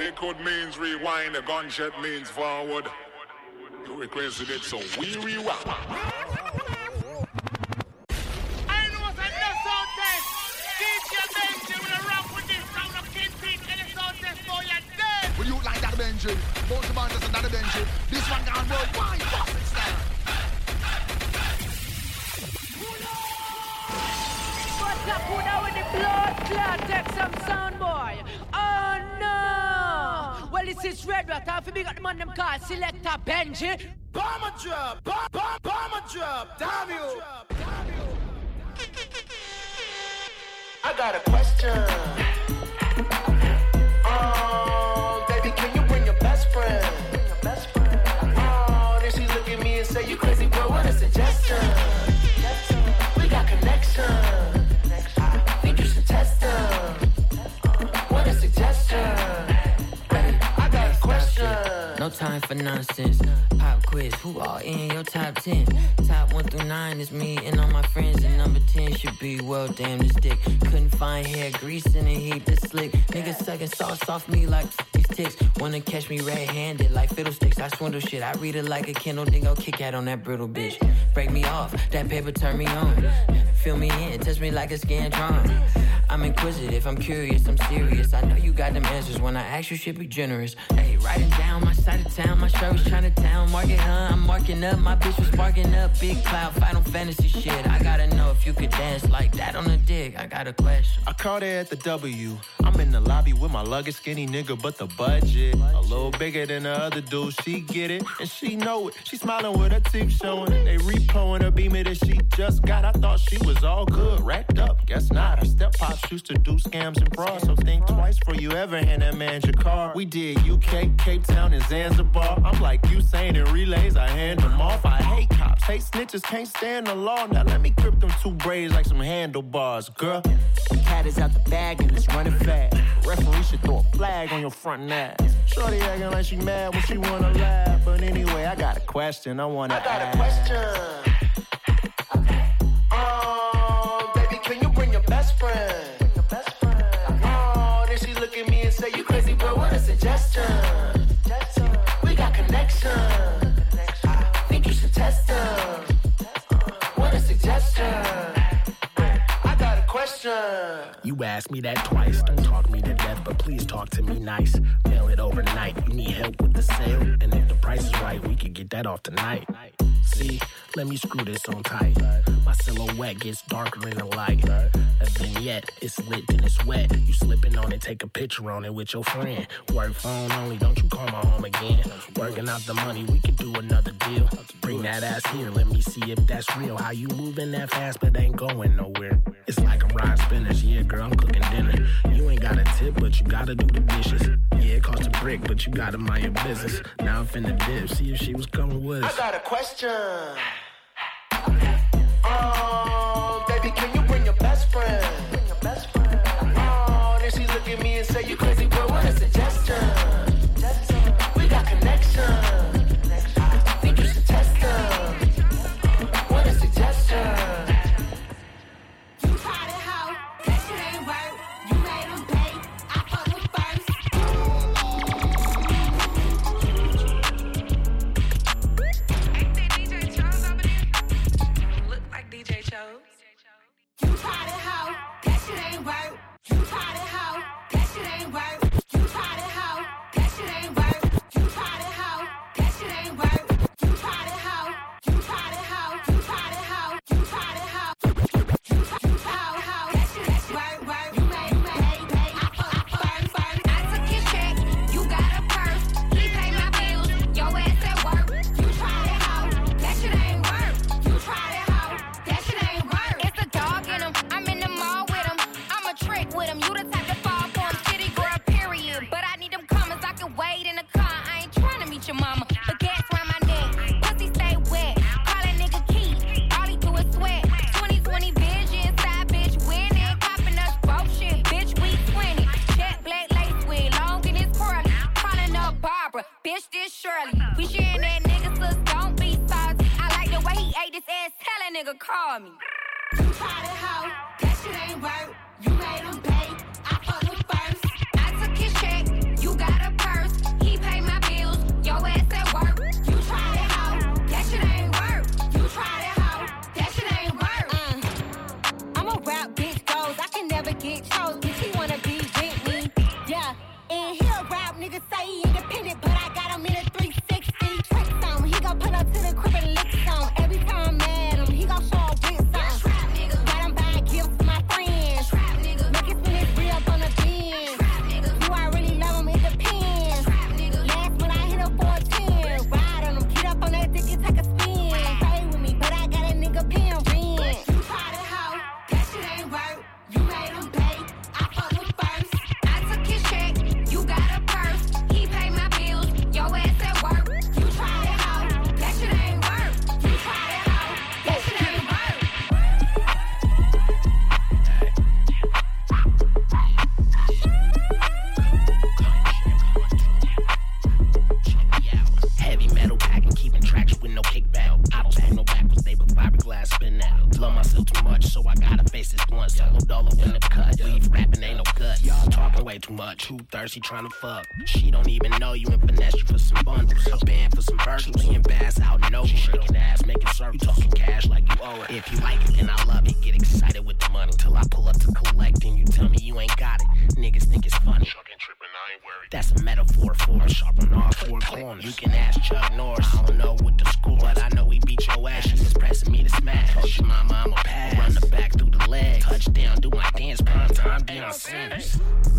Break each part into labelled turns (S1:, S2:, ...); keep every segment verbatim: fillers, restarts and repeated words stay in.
S1: liquid means rewind, a gunshot means forward. You requested it, so we rewind.
S2: I know what's a no sound test. D J Benji will rock with this sound of Kingpin and the sound test for your dead.
S3: Will you like that Benji? Both the band doesn't that Benji. This one gone worldwide, fucking style.
S4: What's up, who now with the blood clot? Take some sound, boy. Oh no! Well, this is Red Rat. I feel we got the man them called Selector Benji.
S2: Bomber drop, bomb, bomb, bomber drop, damn you.
S5: I got a question. Oh, baby, can you bring your best friend? Oh, then she look at me and say, you crazy, bro, what a suggestion? We got connection. I think you should test them. What a suggestion? I got a question.
S6: No time for nonsense. Pop quiz, who all in your top ten? Top one through nine is me and all my friends, and number ten should be, well, damn this dick. Couldn't find hair grease in a heap to slick. Niggas sucking sauce off me like these ticks. Wanna catch me red-handed like fiddlesticks. I swindle shit, I read it like a Kindle, then go kick out on that brittle bitch. Break me off, that paper turn me on. Fill me in, touch me like a Scantron. I'm inquisitive, I'm curious, I'm serious. I know you got them answers when I ask you shit, be generous. Hey, write it down, my side of town, my shirt was Chinatown. Market, huh? I'm marking up, my bitch was sparking up. Big cloud, Final Fantasy shit. I gotta know if you could dance like that on the dick. I got a question.
S7: I caught her at the W. I'm in the lobby with my luggage, skinny nigga, but the budget a little bigger than the other dude. She get it, and she know it. She smiling with her teeth showing. They repoing her beamer that she just got. I thought she was all good, racked up. Guess not. Her step pops used to do scams and frauds, so think twice before you ever hand that man your car. We did U K, Cape Town, and Zanzibar. I'm like Usain in relays, I hand them off. I hate cops, hate snitches, can't stand the law. Now let me grip them two braids like some handlebars, girl. Cat is out the bag and it's running fast. Referee should throw a flag on your front ass. Shorty acting like she mad when she wanna laugh. But anyway, I got a question I wanna ask.
S5: I got ask. a question. Oh, baby, can you bring your best friend? Your best friend. Oh, then she look at me and say, you crazy, bro, what a suggestion? We got connection. I think you should test them. What a suggestion. I got a question.
S8: You asked me that twice. Don't talk me to death, but please talk to me nice. Mail it overnight. You need help with the sale? And if the price is right, we could get that off tonight. See, let me screw this on tight. My silhouette gets darker in the light. A vignette, it's lit and it's wet. You slipping on it, take a picture on it with your friend. Work phone only, don't you call my home again. Working out the money, we could do another deal. Bring that ass here, let me see if that's real. How you moving that fast but ain't going nowhere. It's like I'm riding spinners, yeah girl, I'm cooking dinner. You ain't got a tip, but you gotta do the dishes. Yeah, it cost a brick, but you gotta mind your business. Now I'm finna dip, see if she was coming with us.
S5: I got a question. Oh, baby, can you bring your best friend? Bring your best friend. Oh, then she look at me and say, you crazy, bro, what a suggestion? We got connection. I think you should test them. What a suggestion.
S9: You tried it how? That shit ain't work. You made them pay. I fuck with first.
S10: Ain't that D J Chose over there? Look like D J Chose.
S9: You tried it how? That shit ain't work. You tried it how? That shit ain't work. You tried it how? That shit ain't work. You tried it how? That shit ain't work. You tried it how? You tried it how? You tried it how? You tried it how? You tried it how? That shit ain't work, work. You made me pay, pay. I fuck, I fuck, first.
S10: I took his check, you got a purse. He paid my bills, your ass at work.
S9: You tried it how? That shit ain't work. You tried it how? That shit ain't work.
S10: It's a dog in him, I'm in the mall with him. I'm a trick with him, you the type to fall for him. City girl, period. But I need them commas, I can wait in the car. I ain't trying to meet your mama, but gas around my neck. Pussy stay wet, call that nigga Keith. All he do is sweat. twenty twenty vision, side bitch winning. Copping us both shit, bitch, we twenty. Jet black lace with long in his curly. Calling up Barbara, bitch, this Shirley. We sharing that nigga, sis, don't be salty. I like the way he ate this ass, tell that nigga call me.
S9: You tried it how? That shit ain't work. You made them pay. I fuck with first.
S10: I took his check, you got a purse.
S9: get chose, bitch, he wanna be with me. Yeah, and he a rap nigga, say he independent, but I got him in a three sixty. Tricks on, he gon' pull up to the crib and lick some. Every time I'm mad him, he gon' show up with some. Got him buying gifts to my friends. Make it spin his real up on the bin. Do I really love him? It depends. Last when I hit him for a ten. Ride on him, get up on that dick and take a spin. Play with me, but I got a nigga paying rent. You tried it, hoe, that shit ain't work. You made him pay, I fuck with first. I took his check, you got a purse. He paid my bills, your ass at work. You tried it, hoe, that shit ain't work. You tried it, hoe, that shit ain't work.
S8: Heavy metal packing, keeping traction with no kickback. I don't spin no backwards, they with fiberglass spin out. Love myself too much, so I gotta face this blunt. Solo dollar in the cut, leave rapping ain't no gut. Y'all talking way too much, too thirsty trying to fuck. She don't even know you and finesse you for some bundles. A band for some virtuals, and bass out in Nova. Shaking ass, making circles, you talking cash like you owe it. If you like it, then I love it. Get excited with the money till I pull up to collect, and you tell me you ain't got it. Niggas think it's funny. That's a metaphor for a sharp on all four corners. You can ask Chuck Norris. I don't know what the score, but I know he beat your ass. She was pressing me to smash. Told your mama I'm a pass. Run the back through the leg. Touchdown, do my dance. Prime time, Deion Sanders.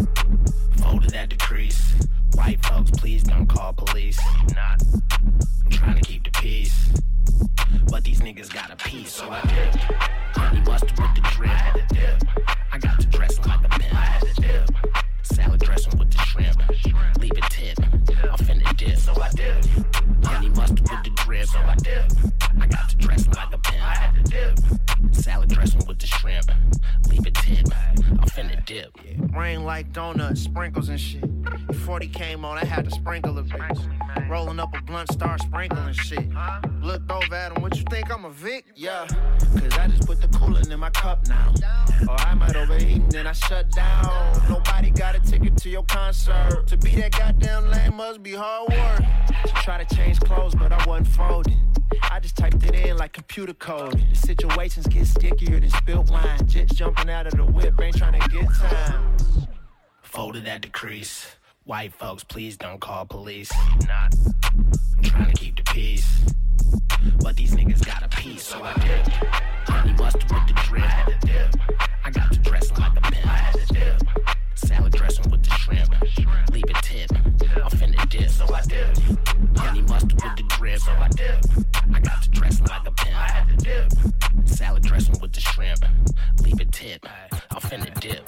S8: Folded at the crease. White folks, please don't call police. Not. I'm trying to keep the peace. But these niggas got a piece, so I dip. Honey mustard with the drip. I had to dip. I got to dress like a pimp. I had to dip. Salad dressing with the shrimp. Leave it tip. I'm finna dip. So I dip. Honey mustard with the drip. So I dip. I got to dress like a pimp. I had to dip. Salad dressing with the shrimp. Leave it tip. I'm finna dip.
S7: Rain like donuts, sprinkles and shit. Before they came on, I had to sprinkle a bitch. Rolling up a blunt, start sprinkling shit. Looked over at him, what you think, I'm a Vic? Yeah, cause I just put the coolant in my cup now. Or I might overheat and then I shut down. Nobody got a ticket to your concert. To be that goddamn lame must be hard work. To try to change clothes, but I wasn't folding. I just typed it in like computer code. The situations get stickier than spilled wine. Jets jumping out of the whip, ain't trying to get time.
S8: Folded at the crease. White folks, please don't call police. Not. I'm trying to keep the peace. But these niggas got a piece, so I dip. Honey mustard with the drip. I had to dip. I got to dress like a pimp. I had to dip. Salad dressing with the shrimp. Leave it tip. I'm finna dip, so I dip. Honey mustard with the drip. So I dip. I got to dress like a pimp. I had to dip. Salad dressing with the shrimp. Leave it tip. I'm finna dip.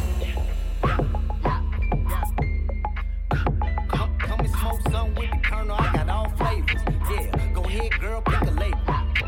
S5: Come and smoke some with the Colonel. I got all flavors. Yeah, go ahead, girl, pick a label.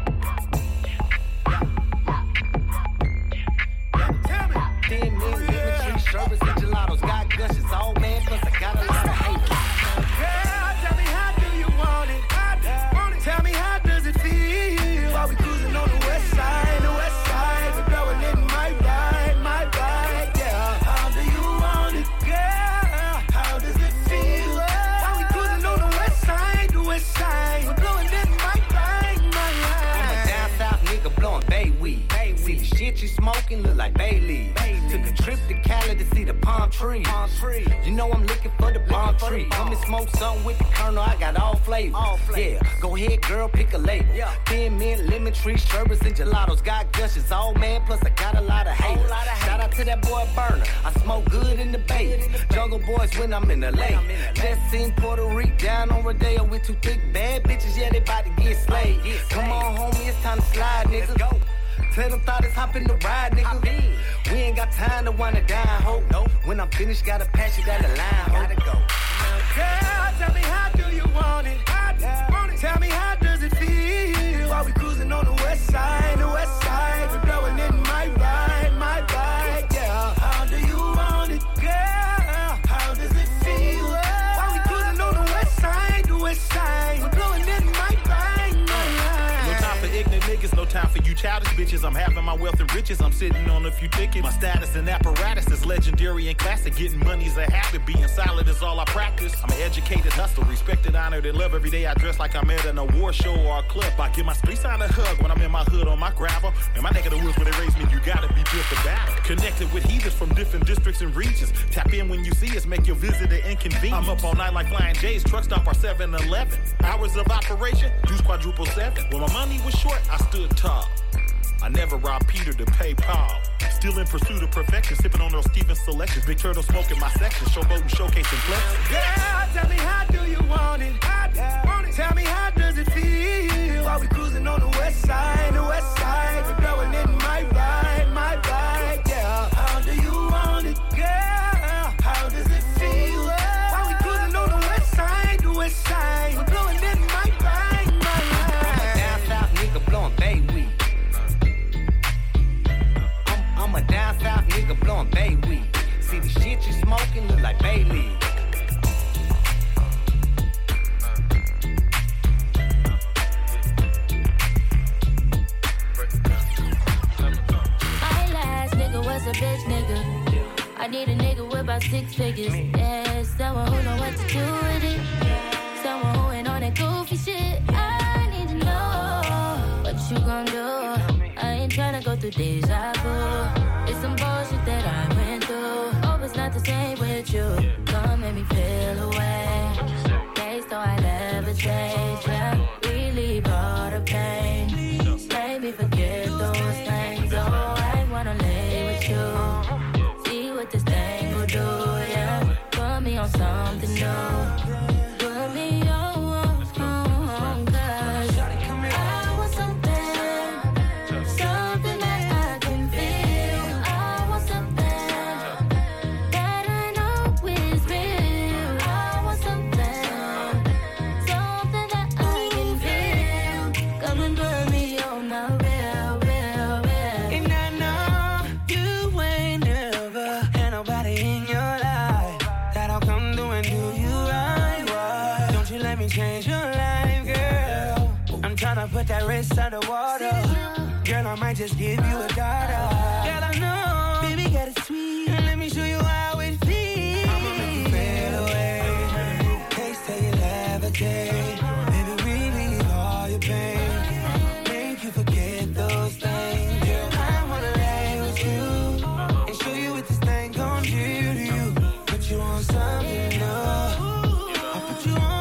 S5: Ten million lemon tree sherbets and gelatos. Got gushes, all man, plus I got a lot of haters.
S11: Girl, tell me how do you want it? Tell me how does it feel? While we cruising on the west side, the west side, we're blowing it my ride, my ride, yeah. How do you want it, girl? How does it feel? While we cruising on the west side, the west side, we're blowing it my ride, my ride.
S5: I'm a down south nigga blowing bay weed. See the shit you smoking look like Bailey. Took a trip to Cali to see the palm tree. Palm tree. You know I'm looking for the palm tree. Come and smoke something with the Colonel. I got all flavors. All flavors. Yeah, go ahead, girl, pick a label. Yeah. Thin mint, lemon tree, sherbets and gelatos. Got gushes, all man. Plus I got a lot of haters. Lot of Shout out to that boy Burner. I smoke good in the Bay. Jungle Boys when I'm in the lake. Just seen Puerto Rico down on Rodeo with two thick bad bitches. Yeah, they about to get slayed. Come on, homie, it's time to slide, nigga. Let's go. Tell them thought it's hopping the ride, nigga. We ain't got time to wanna die, ho. Nope. When I'm finished, gotta pass you down the line, ho. Gotta go.
S11: Girl, tell me how do you want it? Tell me how does it feel? While we cruising on the west side, the west side, we're blowing in my ride, my ride, yeah. How do you want it, girl? How does it feel? While we cruising on the west side, the west side, we're blowing in my ride, my ride.
S12: No time for ignorant niggas, no time for you childish bitches. I'm having my wealth and riches, I'm sitting on a few tickets. My status and apparatus is legendary and classic. Getting money's a habit, being solid is all I practice. I'm an educated hustler, respected, honored, and loved. Every day I dress like I'm at an award show or a club. I give my street sign a hug when I'm in my hood on my gravel. In my neck of the woods where they raised me, you gotta be built for battle. Connected with heathens from different districts and regions. Tap in when you see us, make your visit an inconvenience. I'm up all night like Flying J's, truck stop our seven eleven. Hours of operation, juice quadruple seven. When my money was short, I stood tall. I never robbed Peter to pay Paul. Still in pursuit of perfection, sipping on those Stevens selections. Big Turtle smoking my section, showboating, showcasing flex.
S11: Girl, tell me how do you want it? Tell me how does it feel? While we cruising on the west side, the west side. We're blowing in my ride, my ride. Yeah, how do you want it? Girl, how does it feel? While we cruising on the west side, the west side. We're blowing in my ride, my ride.
S13: I'm a down south nigga blowing bay weed. I'm a down south nigga blowing bay weed. See the shit you smoking look like Bailey.
S14: My last nigga was a bitch nigga. I need a nigga with about six figures. Yeah, someone who know what to do with it. Someone who ain't on that goofy shit. I need to know what you gon' do. I ain't tryna go through deja vu. It's some bullshit that I went through. Hope it's not the same with you. Come make me feel away. Days though I never change. Yeah, relieve all the pain. Make me forget those things. Oh, I wanna lay with you. See what this thing will do. Yeah, put me on something new. Put me on.
S11: Put that wrist underwater. Girl, I might just give you a daughter. Girl, I know, baby, got it sweet. And let me show you how it feels. I'ma make you fade away. Taste till you levitate. Baby, relieve all your pain. Make you forget those things. Girl, I wanna lay with you and show you what this thing gon' do to you. Put you on something new. I'll put you on.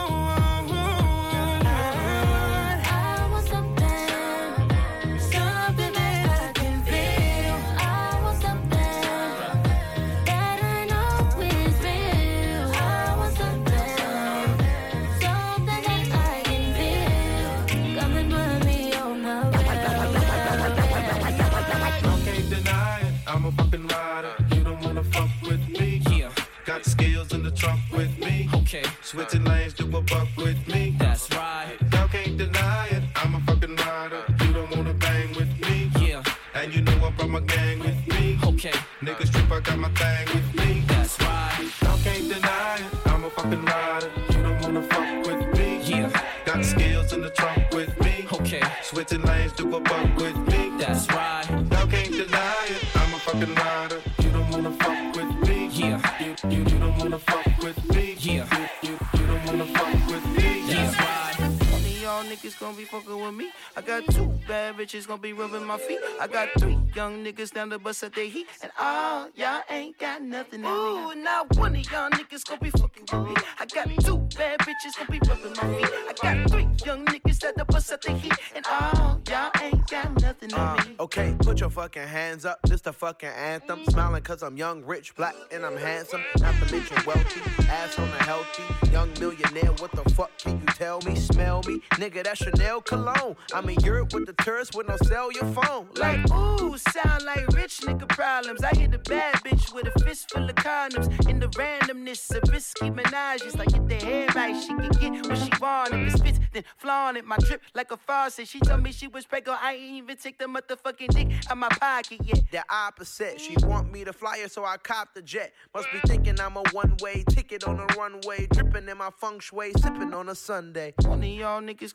S7: Skills in the trunk with me.
S15: Okay.
S7: Switching lanes to a buck with me.
S15: That's right.
S7: Y'all can't deny it. I'm a fucking rider. You don't wanna bang with me.
S15: Yeah.
S7: And you know I brought my gang with me.
S15: Okay.
S7: Niggas trip, I got my thing with me.
S15: That's right.
S7: Y'all can't deny it. I'm a fucking rider. You don't wanna fuck with me.
S15: Yeah.
S7: Got skills in the trunk with me.
S15: Okay.
S7: Switching lanes to a buck with me.
S15: That's right.
S7: Y'all can't deny it. I'm a fucking rider. You don't wanna fuck with me.
S15: Yeah.
S7: You, you, you don't wanna fuck with me.
S15: Yeah.
S7: You, you, you don't wanna fuck with me.
S15: That's right.
S11: One of y'all niggas gonna be fucking with me. I got two bad bitches gonna be rubbing my feet. I got three young niggas down to bust at their heat. And all y'all ain't got nothing in me. Ooh, now one of y'all niggas gonna be fucking with me. I got two bad bitches gonna be rubbing my feet. I got three young niggas that to bust at their heat. And all y'all ain't got nothing in
S16: uh,
S11: me.
S16: Okay, put your fucking hands up. This the fucking anthem. Smiling cause I'm young, rich, black, and I'm handsome. Not to mention wealthy, ass on a healthy. Young millionaire, what the fuck can you tell me? Smell me? Nigga, that's Chanel cologne. I'm in Europe with the tourists with no cellular phone.
S11: Like, ooh, sound like rich nigga problems. I hit a bad bitch with a fist full of condoms. In the randomness of risky menages. Like, get the hair right, she can get what she want. If it spits, then flaunt it. My drip like a faucet. She told me she was pregnant. I ain't even take the motherfucking dick out my pocket yet.
S16: The opposite. She want me to fly her, so I cop the jet. Must be thinking I'm a one-way ticket on a runway. Dripping in my feng shui, sipping on a Sunday.
S11: One of y'all niggas gonna be fucking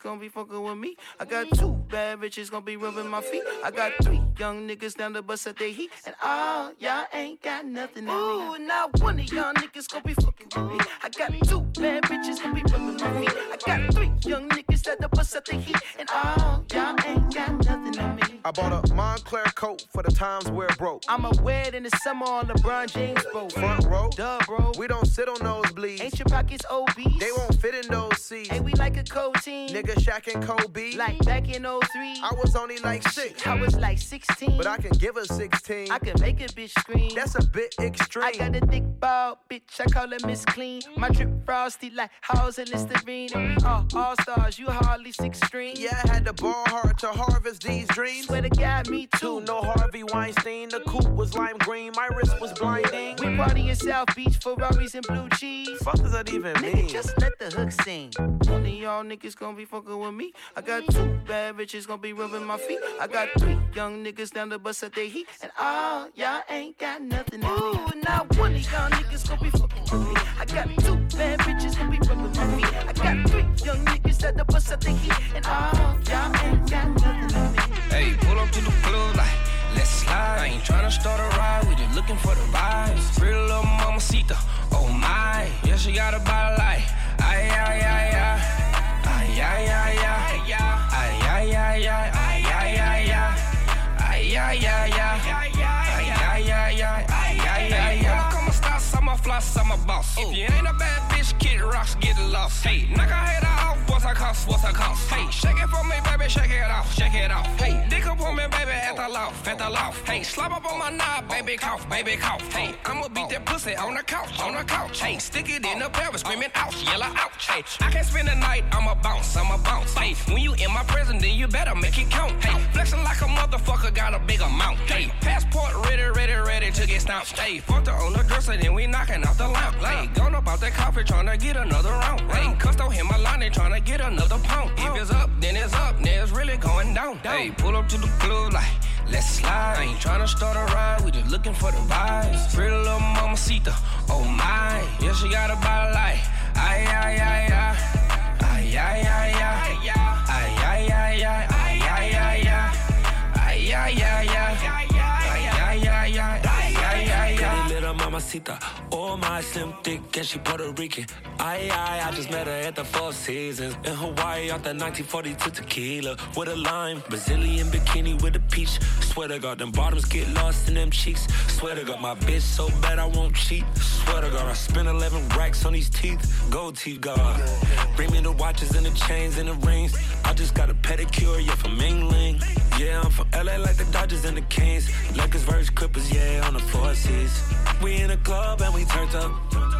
S13: fucking with me. I got two bad bitches gonna be rubbing my feet. I got three young niggas down the bus at their heat. And all y'all ain't got nothing on me. Ooh, not one of y'all niggas gonna be fucking with me. I got two bad bitches gonna be rubbing my feet. I got three young niggas at the bus at their heat. And all y'all ain't got nothing on me.
S16: I bought a Montclair coat for the times where it broke.
S13: I'ma wear it in the summer on LeBron James boat.
S16: Front row,
S13: duh, bro.
S16: We don't sit on nosebleeds.
S13: Ain't your pockets obese?
S16: They won't fit in those seats.
S13: Ain't we like a cold team?
S16: Nigga Shaq and Kobe.
S13: Like back in oh three.
S16: I was only like six.
S13: I was like sixteen.
S16: But I can give her sixteen.
S13: I can make a bitch scream.
S16: That's a bit extreme.
S13: I got a thick ball, bitch. I call her Miss Clean. My drip frosty like house and Listerine. And we all all stars. You hardly six string.
S16: Yeah, I had to ball hard to harvest these dreams.
S13: Swear to God, me too.
S16: No Harvey Weinstein. The coupe was lime green. My wrist was blinding.
S13: We party in South Beach, Ferraris and blue cheese.
S16: Fuck does that even
S13: Nigga,
S16: mean?
S13: just let the hook sing. One of y'all niggas gonna be fucking with me. I got two bad bitches gonna be rubbing my feet. I got three young niggas down the bus at their heat. And all y'all ain't got nothing on me. Ooh, not one of y'all niggas gonna be fucking with me. I got two bad bitches gonna be rubbing my feet. I got three young niggas at the bus at their heat. And all y'all ain't got nothing on me.
S17: Hey, pull up to the club like, let's slide. I ain't tryna start a ride, we just looking for the vibes. Pretty little mamacita, oh my. Yeah, she got a body like, ay, ay, ay, ay. Ay, ay, ay, ay. Ay, ay, ay, ay. Ay, ay, ay, ay. Ay, ay, ay, ay. Ay, ay, ay, ay. Ay, ay, ay, ay. Come on, stop, I'm a floss, I'm a boss. If you ain't a bad bitch, get rocks, get lost. Hey, knock her head off, what's her cost, what's her cost? Hey, shake it for me, baby, shake it off, shake it off. Hey, dick up on me, baby, at the loft, at the loft. Hey, slap up on my knob, baby, cough, baby, cough. Hey, I'ma beat that pussy on the couch, on the couch. Hey, stick it in the pelvis, screaming ouch, yell ouch. Hey, I can't spend the night, I'ma bounce, I'ma bounce. Hey, when you in my prison, then you better make it count. Hey, flexing like a motherfucker, got a big amount. Hey, passport ready, ready, ready to get stamped. Hey, fucked her on the dresser, then we knocking off the lamp. Hey, gone up out that coffee, tryna get another round. Hey, cussed on him, my line, they tryna get another pound. If it's up, then it's up, then it's really going down. Hey, pull up to the club like, let's slide. I ain't tryna start a ride, we just looking for the vibes. Pretty little mamacita, oh my. Yeah, she got a body like, ay, ay, ay, ay. Ay, ay, ay, ay. Ay, ay, ay, ay. Ay, ay, ay, ay. Ay, ay, ay, ay. Ay, ay, ay, ay. Ay, ay, ay.
S18: Pretty little mamacita, oh my, slim thick and she Puerto Rican. Ay, ay, I just met her at the Four Seasons in Hawaii off that nineteen forty-two tequila with a lime, Brazilian bikini with a peach. Swear to God, them bottoms get lost in them cheeks. Swear to God, my bitch so bad I won't cheat. Swear to God, I spent eleven racks on these teeth. Gold teeth, God. Bring me the watches and the chains and the rings. I just got a pedicure, yeah, from Mingling. Yeah, I'm from L A like the Dodgers and the Kings. Lakers versus Clippers, yeah, on the four seas. We in a club and we turned up.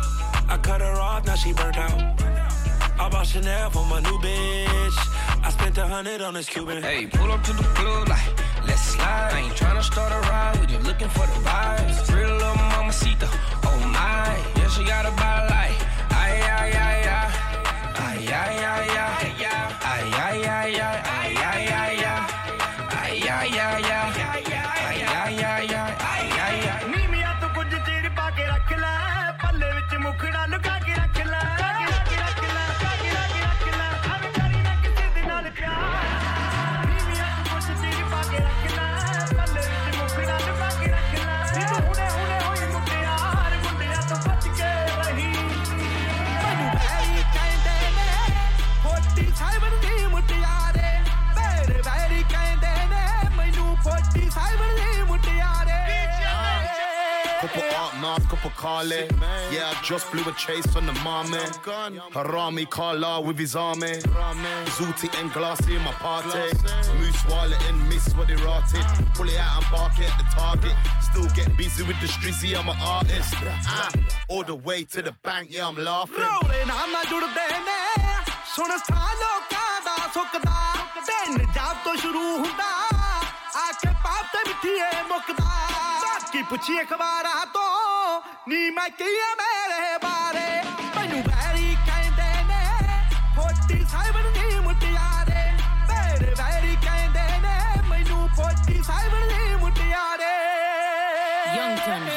S18: I cut her off, now she burnt out. I bought Chanel for my new bitch. I spent a hundred on this Cuban.
S17: Hey, pull up to the club like, let's slide. I ain't tryna start a ride, we just looking for the vibes. Pretty little mamacita, oh my. Yeah, she got a body like, ay, ay, ay, ay. Ay, ay, ay, ay. Ay, ay, ay, ay. Ay, ay, ay, ay. Ay, ay, ay, ay. Ay, ay, ay, ay. Ay, ay, ay.
S11: नी मियां तो कुछ चीर पाके रख ले पल्ले विच मुखड़ा लुका के रख ले रख ले रख ले रख ले अब करी ना किसी दे नाल प्यार नी मियां तो कुछ चीर पाके रख ले पल्ले विच मुखड़ा लुका के रख ले नी तू हुने हुने होई मुटियार मुंडिया तो बच के रही मैनू वैरी कहंदे ने फोर्टी सेवन दी मुटियारे मेरे वैरी कहंदे ने मैनू forty seven the मुटियारे
S3: Couple art mask, couple Carly. Yeah, I just blew a chase on the mommy. Harami Carla with his army. Zooty and Glassy in my party. Moose wallet and miss what they rotted. Pull it out and bark at the target. Still get busy with the strizzy, I'm an artist. Ah, all the way to the bank, yeah, I'm laughing.
S11: Rolling, I'm not doing that. Soon as I look at the Sokada, then the job to shuru hunda. I can pop the Mitia Mokada. Ki puchi akhbara to ni main kiya mere bare mainu very kende ne forty-seven ni mutiyare mere very kende ne mainu forty-seven ni mutiyare
S4: Young Gun, hottest thing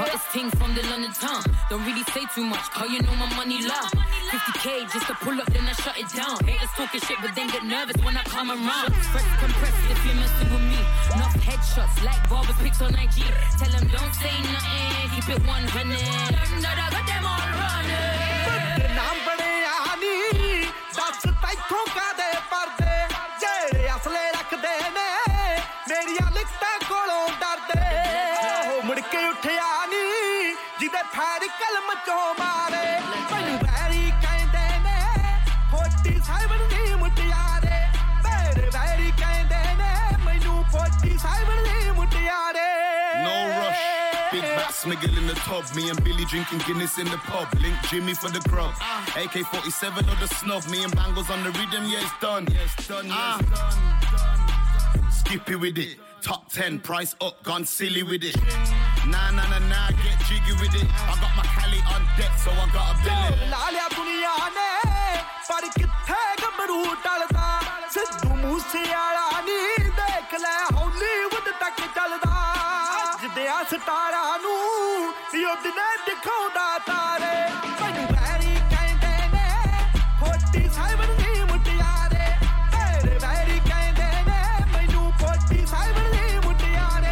S6: thing from the London town. Don't really say too much, cause you know my money loud. fifty K just to pull up, then I shut it down. Haters talking shit, but then get nervous when I come around. Fresh compressed if you're messing with me. Enough headshots like barbers pics on I G. Tell them don't say nothing, keep it one hundred. That I got them all running.
S11: नाम बड़े आनी दस तैथों का दे पर्दे जेड़े असले रख दे ने मेरिया लिखता कोलों डर दे हो मुड़ के उठया नी जिदे फैर कलम चो मारे मैनू वैरी कहंदे ने फोर्टी सेवन दी मुटियारे मेरे वैरी कहंदे ने मैनू forty seven the मुटियारे
S3: No rush. Big back smiggle in the tub. Me and Billy drinking Guinness in the pub. Link Jimmy for the grub. A K forty-seven or the snub. Me and Bangles on the rhythm. Yeah, it's done. Yeah, it's done. Yeah, it's done. done. Skippy with it. Top ten. Price up. Gone silly with it. Nah, nah, nah, nah. Get jiggy with it. I got my Cali on deck, so I got a billet.
S11: लालिया दुनिया ने पर किथे गबरू टलदा सिद्धू मूसेवाला नी देख ले Hollywood तक चलदा जिदे स्टारां नू युद्ध ने दिखाउंदा तारे मैनू वैरी कहंदे ने फोर्टी सेवन दी मुटियारे मेरे वैरी कहंदे ने मैनू forty seven the मुटियारे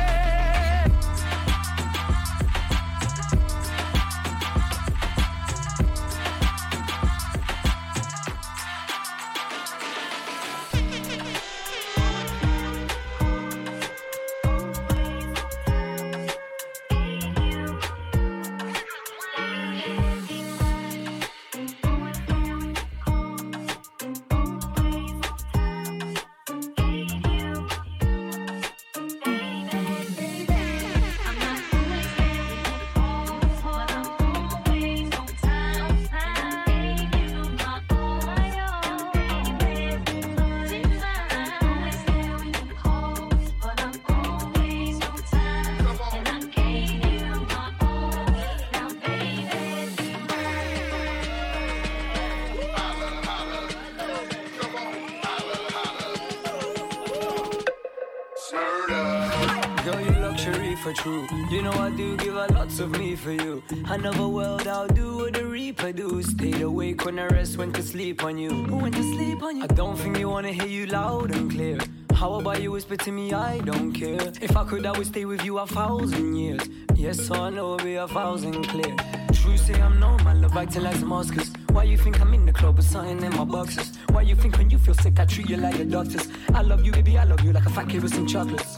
S19: For true, you know I do give a lots of me for you. Another world I'll do what the Reaper do. Stayed awake when the rest went to sleep on you. Who went to sleep on you? I don't think you wanna hear you loud and clear. How about you whisper to me? I don't care. If I could, I would stay with you a thousand years. Yes, so I know it'll be a thousand clear. True, say I'm normal, love acting like Damascus. Why you think I'm in the club with something in my boxes? Why you think when you feel sick I treat you like the doctors? I love you, baby, I love you like a fat kid with some chocolates.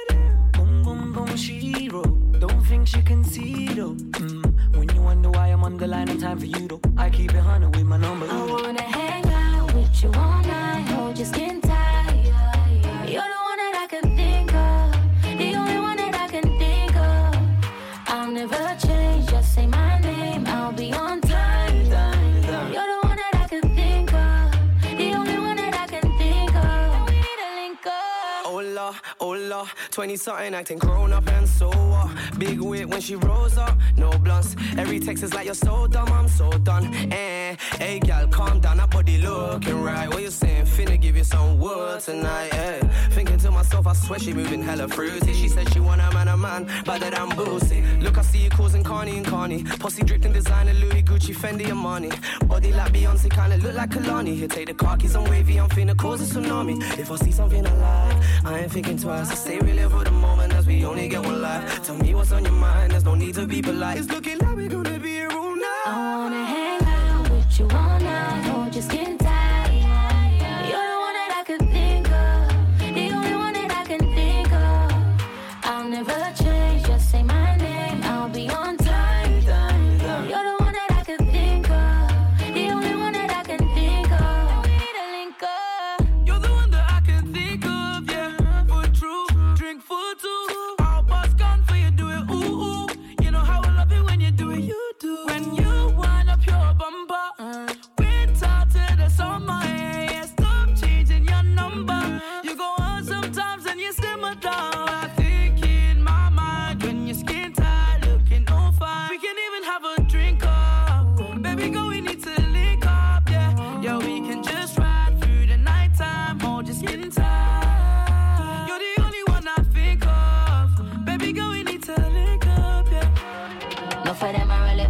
S19: She wrote, don't think she can see though. Mm. When you wonder why I'm on the line, in time for you though. I keep it hundred with my number.
S14: I wanna hang out with you all night, hold your skin tight. You're the one that I can think of, the only one that I can think of. I'll never change, just say my name, I'll be on time. You're the one that I can think of, the only one that I can think of. We need to link up.
S19: Hola, hola, twenty-something acting grown up and so uh, big wit when she rose up, no blunts. Every text is like you're so dumb, I'm so done. Eh, hey gal, calm down, that body looking right. What you saying? Finna give you some wood tonight. Eh, thinking to myself, I swear she moving hella fruity. She said she want a man, a man, but that I'm boozy. Look, I see you causing Carney and Carney. Posse drifting designer, Louis, Gucci, Fendi, and money. Body like Beyonce, kinda look like Kalani. Here, take the car keys, I'm wavy, I'm finna cause a tsunami. If I see something I like, I ain't thinking twice. I say we live for the moment as we only get one life. Tell me what's on your mind, there's no need to be polite. It's looking like we're gonna be here all night.
S14: I wanna hang out with you all night, hold your skin tight. You're the one that I could think of, the only one that I can think of. I'll never change, just say my name, I'll be on time. You're the one that I could think of, the only one that I can think of. We need to link up.
S19: You're the one that I can think of, yeah, for true. Drink for two, all bus gone for you, do it, ooh, ooh. You know how I love it when you do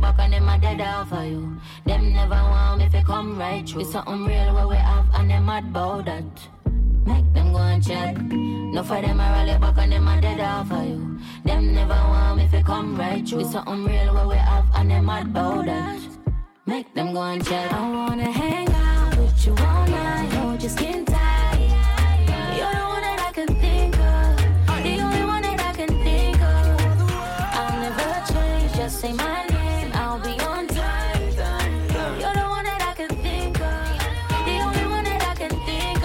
S14: back and them a dead off for you. Them never want me to come right through. It's something real what we have and them mad about that. Make them go and check. No for them a rally back and them a dead off for you. Them never want me to come right through. It's something real what we have and them mad about that. Make them go and check. I wanna hang out with you all night. Hold your skin tight. You're the one that I can think of. The only one that I can think of. I'll never change, just say my name, I'll be on time. You're the one that I can think of. The only one that I can think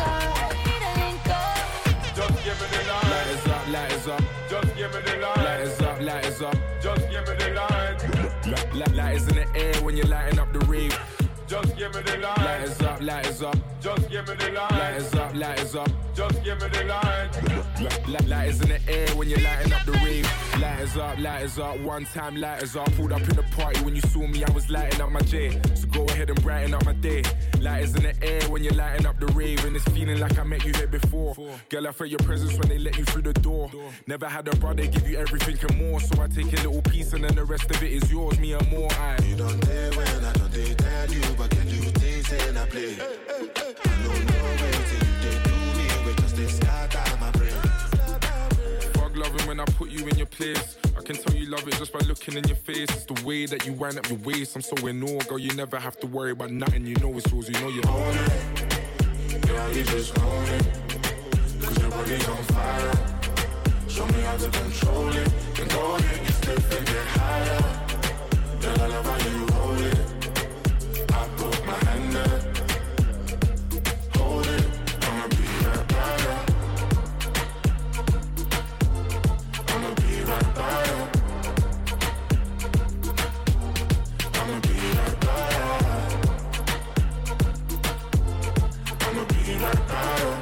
S14: of.
S20: Just give me the line. Light is up, light is up. Just give me the line. Light is up, light is up. Just give me the line. Light, light is in the air when you're lighting up the rave. Just give me the line. Light is up, light is up. Just give me the line. Light is up, light is up. Just give me the line. Light, light is in the air when you're lighting up the rave. Light is up, light is up. One time light is up. Pulled up in the party when you saw me, I was lighting up my J. So go ahead and brighten up my day. Light is in the air when you're lighting up the rave. And it's feeling like I met you here before. Girl, I felt your presence when they let you through the door. Never had a brother give you everything and more. So I take a little piece and then the rest of it is yours. Me and more, I.
S21: You don't dare when I don't dare tell you. But can you things in a play? I don't know where till you did do me. We just this scatter my brain.
S20: Fuck loving when I put you in your place. I can tell you love it just by looking in your face. It's the way that you wind up your waist. I'm so in awe, girl. You never have to worry about nothing. You know it's yours. You know you own it. Girl, you just own it. Cause your body's on fire. Show me how to control it. And go ahead, get stiff and get higher. Girl, I love how you hold it. I put my hand there. Hold it. I'ma be right by you. I'ma be right by you. I'ma be right by you. I'ma be right by you.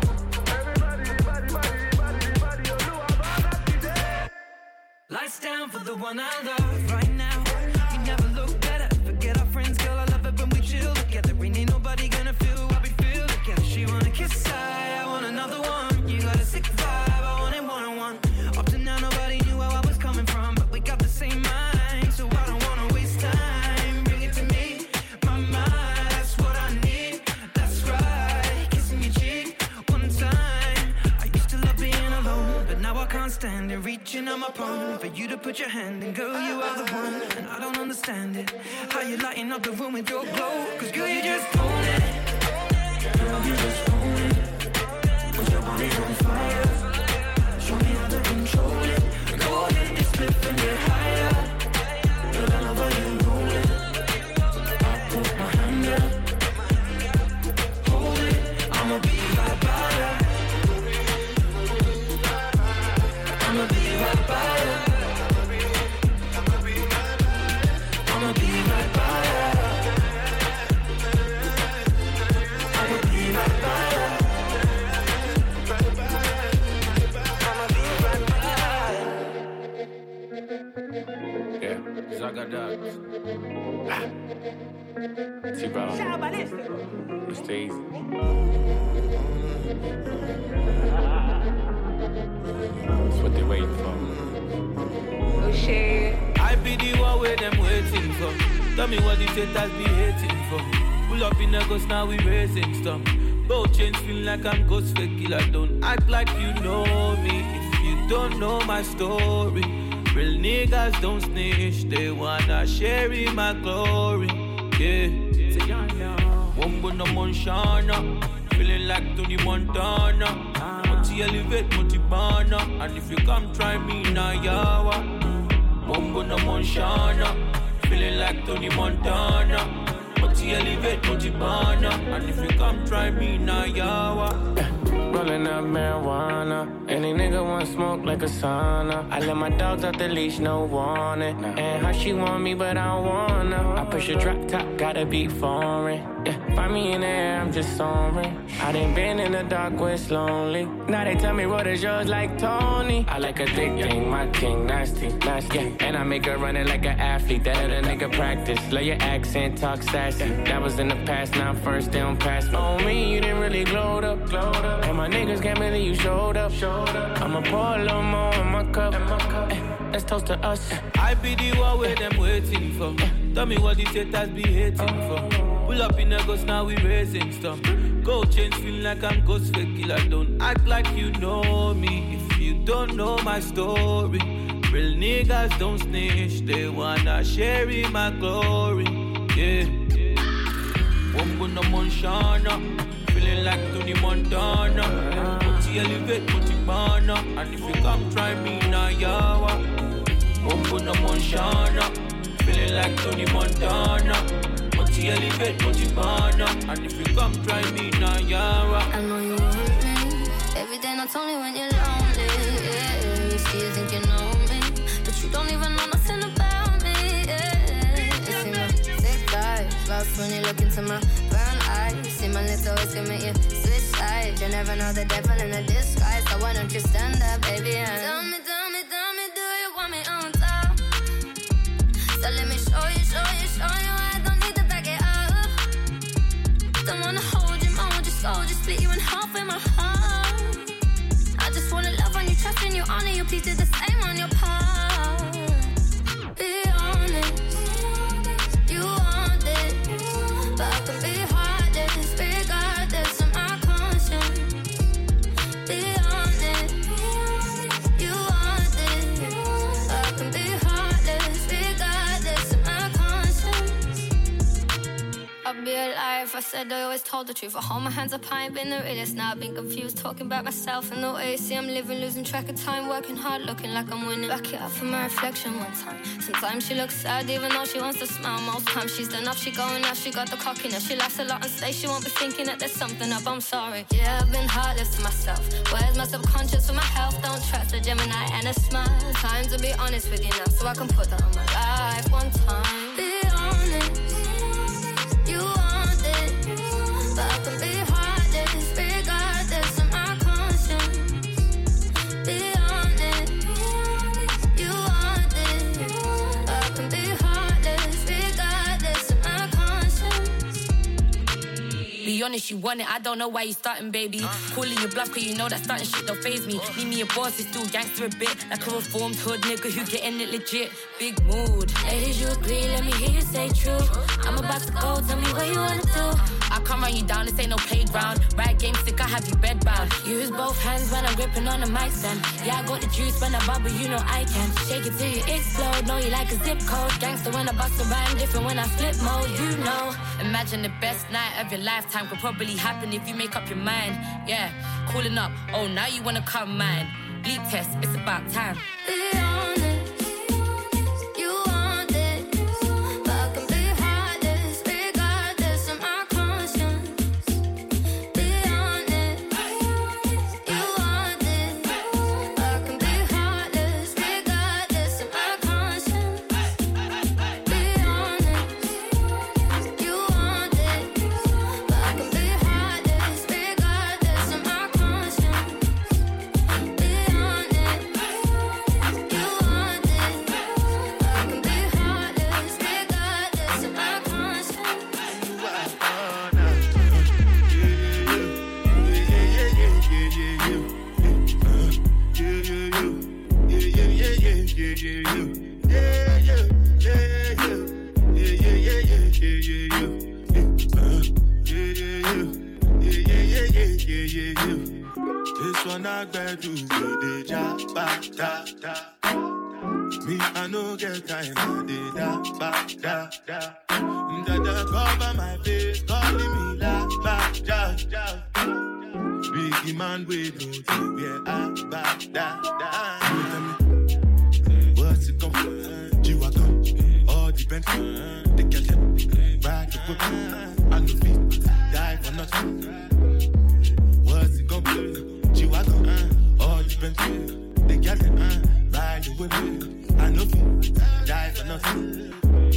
S22: Lights down for the one I love right now. You never look better. Forget our friends, girl. I love it when we chill together. Ain't nobody gonna feel what we feel together. She wanna kiss, I, I want another one. You got a sick vibe, I want it one on one. Up to now, nobody knew where I was coming from, but we got the same mind, so I don't wanna waste time. Bring it to me, my mind. That's what I need. That's right. Kissing your cheek one time. I used to love being alone, but now I can't stand it. Reaching on my palm for you to put your hand in. Girl, you are the one, and I don't understand it. How you lighting up the room with your glow. Cause girl, you just own it. Girl, you just own it. Cause your body's on fire. Show me how to control it. Go ahead, get split and get higher. Girl, I love how you roll it. I put my hand there. Hold it. I'ma be right by ya. I'ma be right by ya. I'ma be right by ya. I'ma be right by ya. I'ma be right by ya.
S15: Yeah, Zaga Dogs. Ah. T-Ball. It's easy. That's what they waiting for.
S22: Oh shit. I be the one where them waiting for. Tell me what the haters be hating for. Pull up in the ghost, now we raising stuff. Both chains feel like I'm ghost fake killer. Don't act like you know me if you don't know my story. Real niggas don't snitch, they wanna share in my glory. Yeah, Wombo no Monshana, feeling like Tony Montana. Multi elevate, multi banner, and if you come try me now, yawa. Wombo no Monshana, feeling like Tony Montana. Multi elevate, multi banner, and if you come try me now, yawa.
S23: Rolling up marijuana. Any nigga want smoke like a sauna. I let my dogs out the leash, no warning. And how she want me, but I don't wanna. I push a drop top, gotta be foreign. Yeah, find me in the air, I'm just soaring. I done been in the dark where it's lonely. Now they tell me what is yours like Tony. I like a thick thing, my king, nasty, nasty. Yeah, and I make her run it like an athlete. That other nigga practice. Love your accent, talk sassy. That was in the past, now I'm first, they don't pass me. On me, you didn't really glowed up, glowed up. And my niggas can't believe you showed up, showed up. I'ma pour a little more in my cup. In my cup. let's toast to us.
S1: I be the one where them waiting for. Tell me what these haters be hating for. Pull up in a ghost, now we raising stuff. Gold chains feeling like I'm ghost fake killer. Don't act like you know me if you don't know my story. Real niggas don't snitch, they wanna share in my glory. Yeah. Wombo no Monshana, feeling like Tony Montana. Multi elevate, multi banner, and if you come try me now, yawa. Wombo no Monshana, feeling like Tony Montana. Multi elevate, multi banner, and if you come try me now, yawa.
S14: I know you want me, every day not only when you're lonely. Yeah, you see you think you know me, but you don't even know nothing about me. Yeah, you see my sick eyes, lost when you look into my brown eyes. You see my lips always can make you switch sides. You never know the devil in a disguise, so why don't you stand up, baby? And tell me, tell me, tell me, do you want me on top? So let me show you, show you, show you. I don't need to back it up. Don't wanna hold you, mold your soul, just split you in half with my heart. I just wanna love on you, trust in you, honor you, please do the same on your part. Be honest, you want it, but I can be heartless, regardless of my conscience. Be honest, you want it, but I can be heartless, regardless of my conscience. I'll be alive if I said I always told the truth. I hold my hands up, I ain't been the realest. Now I've been confused, talking about myself and the way you see I'm living, losing track of time, working hard, looking like I'm winning. Back it up for my reflection one time. Sometimes she looks sad even though she wants to smile. Most times she's done enough, she going out, she got the cockiness. She laughs a lot on stage, she won't be thinking that there's something up, I'm sorry. Yeah, I've been heartless to myself. Where's my subconscious for my health? Don't trust a Gemini and a smile. Time to be honest with you now, so I can put that on my life one time. Be honest, you want it, but I can be heartless, regardless of my conscience. Be honest, you want it, but I can be heartless, regardless of my conscience.
S2: Be honest, you want it, I don't know why you starting, baby. Calling your bluff, cause you know that starting shit don't faze me. Need me a boss, it's still gangster a bit. Like a reformed hood nigga who getting it legit. Big mood.
S14: Ladies, you agree, let me hear you say true. I'm about to go, tell me what you wanna do.
S2: I can't run you down, this ain't no playground. Ride game sick, I have you bedbound.
S14: Use both hands when I'm gripping on the mic stand. Yeah, I got the juice when I bubble, you know I can. Shake it till you explode, know you like a zip code. Gangster when I bust a rhyme, different when I flip mode, you know.
S2: Imagine the best night of your lifetime could probably happen if you make up your mind. Yeah, calling up, oh now you wanna come mine. Bleep test, it's about time.
S14: Be honest, you want it, but I can be heartless, regardless of my conscience. Be honest, you want it, but I can be heartless, regardless of my conscience. Be honest, you want it, but I can be heartless, regardless of my conscience. Be honest, you want it, but I can be heartless, regardless of my conscience.
S21: This one I better do the job, ba da da. Me I no get time, I did da ba da da. Da da cover my face, calling me la ba da da. Biggie man we do the where I ba da da. What's it gon' be? G-Wagon, all depends. The girl ride the whip, I no fit die for nothing. What's it gon' be? G-Wagon, uh, all depends. They got it, uh, ride the whip. I know fit die for nothing.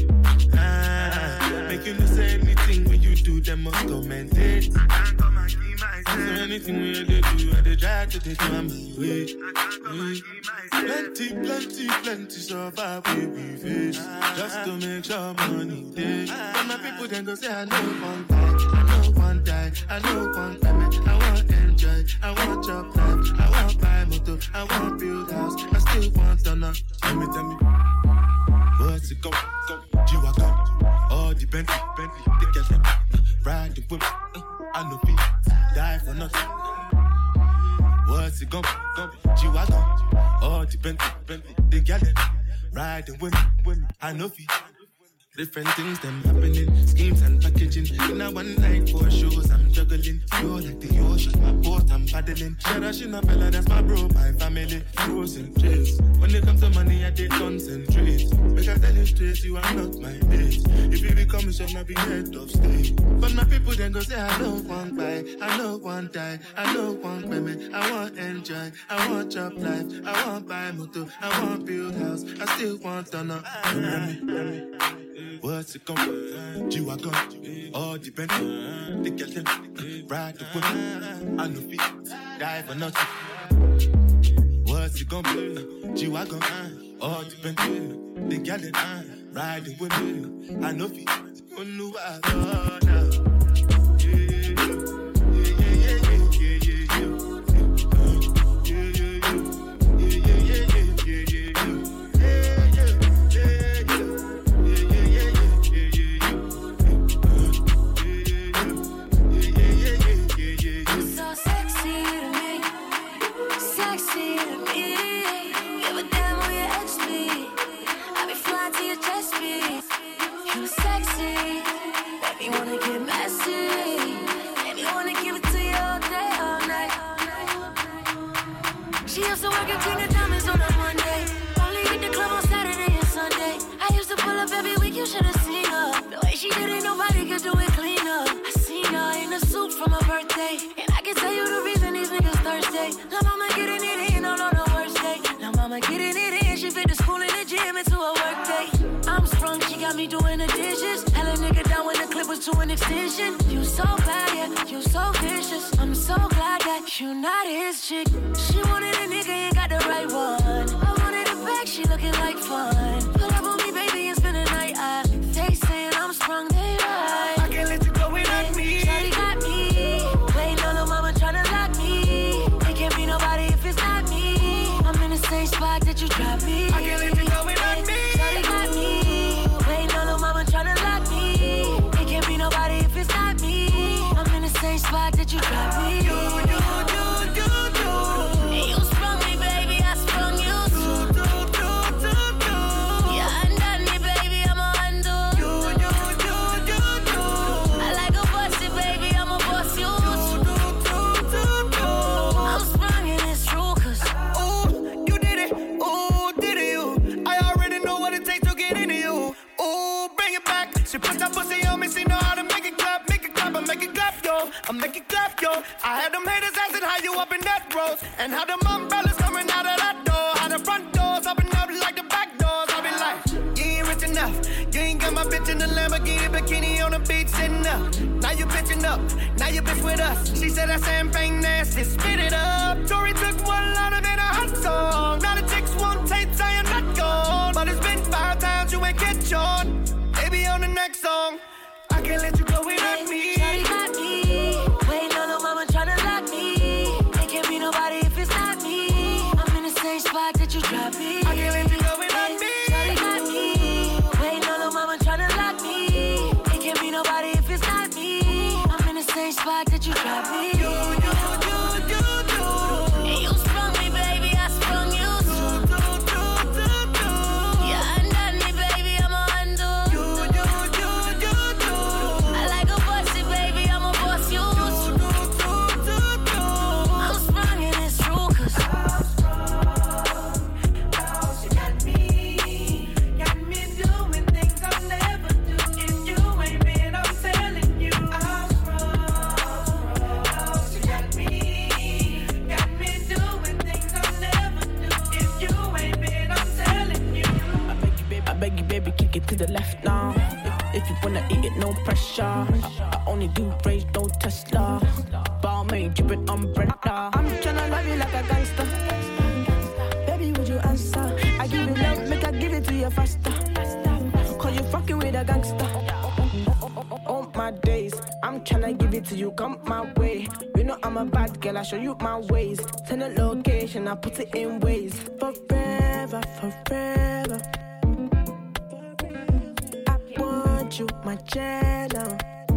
S21: Ah, make you no say anything when you do them must comment it. So anything when you do, I they try to take my way. Plenty, plenty, plenty survive with we face just to make sure money day. But my people then go say I know one die, I know one die, I know one die, I want it. enjoy, I want job life, I want buy motor, I want build house, I still want to know. Tell me, tell me, what's it go, go, G-Wagon, all the Bentley, Bentley, they get them, ride the whip, uh, I know feet, die for nothing. What's it go, go, G-Wagon, all the Bentley, Bentley, they get them, ride the whip, I know feet. Different things them happening, schemes and packaging. In a one night four shows, I'm juggling. You're like the ocean, my boat, I'm paddling. Sharashina fella, that's my bro, my family. Frozen trace. When it comes to money, I did concentrate. Make I tell you straight, you are not my mate. If you become a chef, I'll be head of state. But my people then go say, I don't want buy, I don't want die, I don't want payment, I want enjoy, I want job life, I want buy motor, I want build house, I still want to know. What's it gonna be? G-Wagon, all the Bentley, they get them, ride the whip, I know feet, die for nothing. What's it gonna be? G-Wagon, all the Bentley, they get them, ride the whip, I know feet, oh no, I don't know.
S14: You should have seen her. The way she did it, nobody could do it cleaner. I seen her in a suit for my birthday, and I can tell you the reason these niggas thirsty. La mama getting it in on the worst day. La mama getting it in, she fit the school and the gym into a work day. I'm sprung, she got me doing the dishes. Hella nigga down when the clip was to an extension. You so bad, yeah, you so vicious. I'm so glad that you not his chick. She wanted a nigga, ain't got the right one. I wanted it back, she looking like fun. Pull up on me, baby, and spend the night. I, they saying I'm sprung, they right.
S11: I can't let you go without me.
S14: Shawty got me. Waiting on no mama tryna lock me. It can't be nobody if it's not me. I'm in the same spot that you dropped me.
S11: I can't let you go without me.
S14: Shawty got me. Waiting on no mama tryna lock me. It can't be nobody if it's not me. I'm in the same spot that you dropped me.
S11: You, you, you, you, you.
S14: And you sprung me, baby, I sprung you too.
S11: Do, do, do, do.
S14: Yeah, undone me, baby, I'm a undo.
S11: You, you, you, you, you.
S14: I like a bossy, baby, I'm a boss you too.
S11: Do, do, do, do.
S14: I'm sprung and it's true, cause
S11: ooh, you did it, ooh, did it, you. I already know what it takes to get into you. Ooh, bring it back. She put that pussy on me, she know how to make it clap, make it clap, I make it clap, yo. I make it clap, yo. I had them haters asking how you up in that road, and how them umbrellas coming out of that door, how the front doors open up like the back doors. I be like, you ain't rich enough, you ain't got my bitch in the Lamborghini bikini on the beach sitting up. Now you bitching up, now you bitch with us. She said that champagne nasty, spit it up. Tori took one line of it, a hot song. Now the chicks want tape saying not gone, but it's been five times you ain't catch on. Baby on the next song, I can't let you go without me.
S14: Shawty got me. Waiting on no mama tryna lock me. It can't be nobody if it's not me. I'm in the same spot that you dropped me.
S11: I can't let you go without me.
S14: Shawty got me. Waiting on no mama tryna lock me. It can't be nobody if it's not me. I'm in the same spot that you dropped me.
S11: You, you, you, you, you.
S14: And you sprung me, baby, I sprung you too.
S11: Do, do, do, do.
S14: Yeah, undone me, baby, I'm a undo.
S11: You, you, you, you, you.
S14: I like a bossy, baby, I'm a boss you too.
S11: Do, do, do, do.
S14: I'm sprung and it's true, cause
S11: She got me, got me doing things I'll never do. If you ain't been, I'm telling you, I'm wrong. She got me, got me doing things I'll never do. If you ain't been, I'm telling you.
S8: I beg you, baby, I beg you, baby, kick it to the left now. If, if you wanna eat it, no pressure. I, I only do rage, no Tesla. Balmain, drippin' umbrella. I'm tryna love you like a gangster. Baby, would you answer? I give you love, make I give it to you faster. Cause you fucking with a gangster. All my days, I'm I'm tryna give it to you, come my way. You know I'm a bad girl, I show you my ways. Send a location, I put it in ways. Forever, forever. I want you, my channel.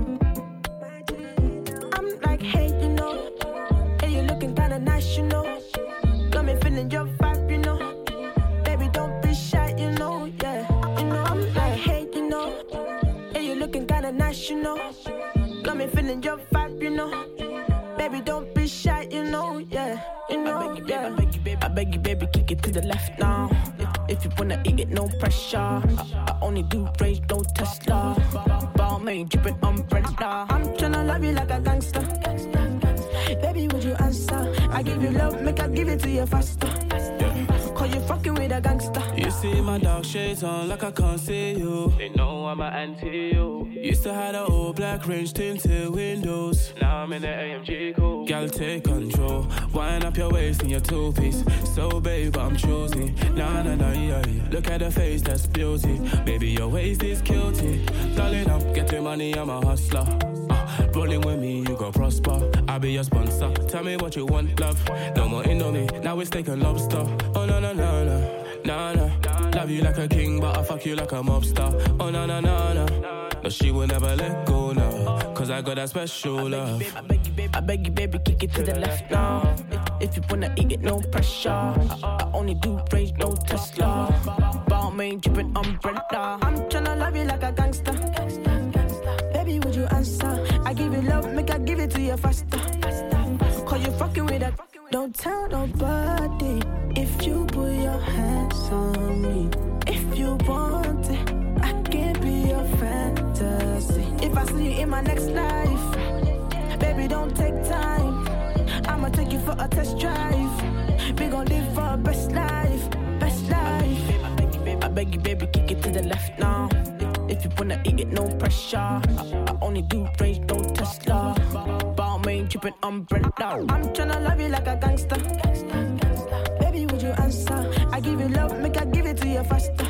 S8: I'm like, hey, you know. Hey, you looking kinda nice, you know. Got me feeling your vibe, you know. Baby, don't be shy, you know, yeah. You know, I'm like, hey, you know. Hey, you looking kinda nice, you know. Got me feeling your vibe, you know. Baby, don't be shy, you know, yeah. You know, I beg you, yeah. baby, I beg you, baby, I beg you, baby, kick it to the left now. If, if you wanna eat it, no pressure. I, I only do rage, don't Tesla. Balmain, drippin' umbrella. I'm tryna love you like a gangster. Baby, would you answer? I give you love, make I give it to you faster. Cause you fucking with a gangster.
S5: You see my dark shades on like I can't see you. They know I'm an anti-you. Used to have the old black range tinted windows. Now I'm in the A M G cool. Girl, take control. Wind up your waist in your two-piece. So babe, I'm choosy. Nah, nah, nah, yeah, yeah. Look at the face, that's beauty. Baby, your waist is guilty. Darling, I'm getting money, I'm a hustler. Uh, rolling with me, you gon' prosper. I'll be your sponsor. Tell me what you want, love. No more Indomie, now it's steak and lobster. Oh, no, no, no, no. Nah, nah. Love you like a king, but I fuck you like a mobster. Oh, no, no, no, no. No, she will never let go now. Cause I got that special love.
S8: I beg you, baby, I beg you, baby, kick it to the left now. If, if you wanna eat it, no pressure. I, I only do rage, no Tesla. Balmain, drippin' umbrella. I'm tryna love you like a gangster. Baby, would you answer? I give you love, make I give it to you faster. Cause you fucking with that. Don't tell nobody if you put your hands on me. If you want it, I can be your fantasy. If I see you in my next life, baby, don't take time. I'ma take you for a test drive. We gon' live our best life, best life. I beg you, baby, I beg you, baby, kick it to the left now. If, if you wanna eat it, no pressure. I, I only do rage, no Tesla. Balmain, drippin' umbrella. I'm tryna love you like a gangster. Baby, would you answer? I give you love, make I give it to you faster.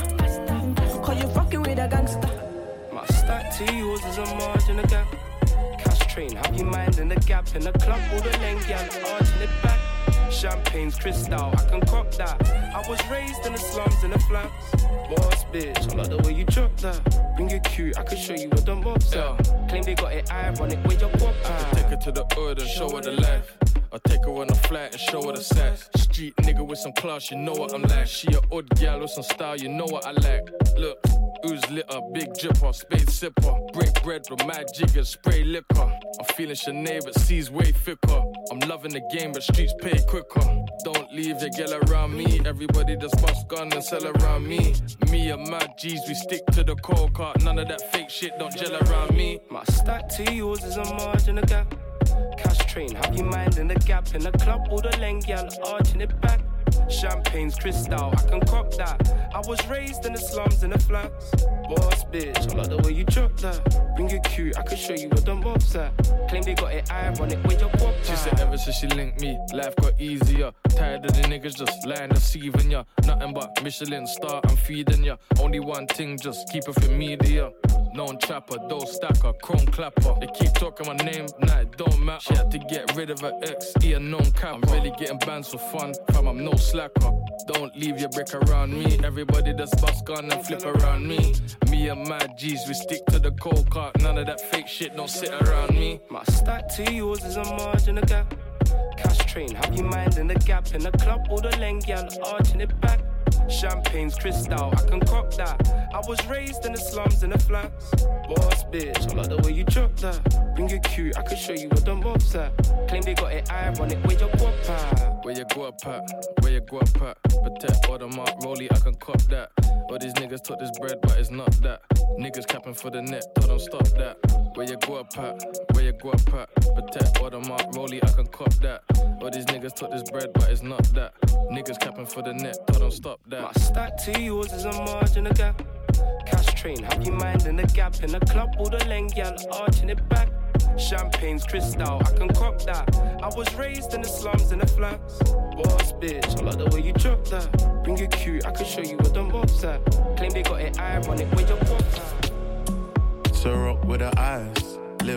S8: Cause you fucking with a gangster.
S19: My stack to yours is a margin of gap. Cash train, have you mind in the gap. In the club, all the length, yeah, arching it back. Champagne's crystal, I can cop that. I was raised in the slums, in the flats. Boss bitch, I like the way you drop that. Bring it cute, I can show you what the mobs are. Claim they got it ironic, where your pop at.
S20: Take her to the hood and show her the life. I take her on a flat and show her the sex. Street nigga with some class, you know what I'm like. She a odd gal with some style, you know what I like. Look, ooze litter, big dripper, spade sipper. Break bread with mad jiggers, spray liquor. I'm feeling Sinead, but C's way thicker. I'm loving the game, but streets pay quicker. Don't leave your girl around me. Everybody just bust gun and sell around me. Me and my G's, we stick to the cold cart. None of that fake shit, don't gel around me.
S19: My stack to yours is a margin of gap. Cash train, have you mind in the gap. In the club, all the length, yeah, arching it back. Champagne's crystal, I can cop that. I was raised in the slums, in the flats. Boss bitch, I like the way you drop that. Bring it cute, I can show you what the mobs at. Claim they got it ironic, where your pop at.
S20: She said ever since she linked me, life got easier. Tired of the niggas just lying, deceiving ya. Nothing but Michelin star, I'm feeding ya. Only one thing, just keep it for media. Known trapper, dough stacker, chrome clapper. They keep talking my name, nah, it don't matter. She had to get rid of her ex, he a known capper. I'm really getting banned for fun, fam, I'm no slacker. Don't leave your brick around me. Everybody just bust gun and flip around me. Me and my G's, we stick to the cold cart. None of that fake shit, don't sit around me.
S19: My stack to yours is a margin of gap. Cash train, have you mind in the gap. In the club, all the length, yeah, arching it back. Champagne's crystal, I can cop that. I was raised in the slums, in the flats. Boss bitch, I like the way you drop that. Bring it cute, I can show you what the mobs at. Claim they got it ironic, where your guap at.
S20: Where you guap at, where you guap at. Protect all the mark, rollie, I can cop that. All these niggas took this bread, but it's not that. Niggas capping for the net, told them stop that. Where you guap at, where you guap at. Protect all the mark, rollie, I can cop that. All these niggas took this bread, but it's not that. Niggas capping for the net, told them stop that.
S19: My stack to yours is a margin of gap. Cash train, have you mind in the gap. In the club, all the length, yeah, arching it back. Champagne's crystal, I can cop that. I was raised in the slums, in the flats. Boss bitch, I like the way you drop that. Bring it cute, I can show you what the mobs at. Claim they got it ironic, where your pop at.
S21: So rock with the eyes. Live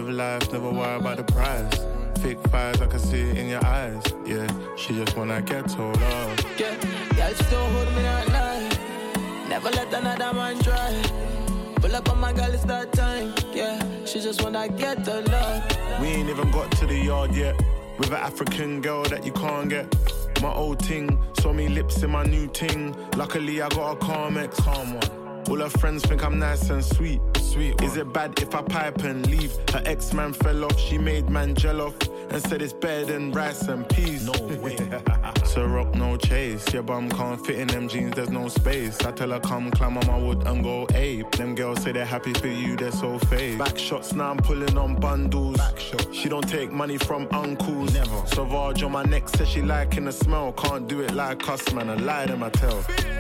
S7: Live life, never worry about the prize. Fake fires, I can see it in your eyes. Yeah, she just wanna get told off.
S8: Yeah, girl still hold me at night. Never let another man try. Pull up on my girl, it's that time. Yeah, she just wanna get the love.
S7: We ain't even got to the yard yet. With an African girl that you can't get. My old ting, saw me lips in my new ting. Luckily I got a calm ex, calm one. All her friends think I'm nice and sweet. Sweet. Is it bad if I pipe and leave? Her ex-man fell off, she made man gel off and said it's better than rice and peas. No way. So rock, no chase. Your bum can't fit in them jeans, there's no space. I tell her come climb on my wood and go ape. Them girls say they're happy for you, they're so fake. Back shots, now I'm pulling on bundles. She don't take money from uncles. Never. Sauvage on my neck, says she liking the smell. Can't do it like us, man, I lie to my tell.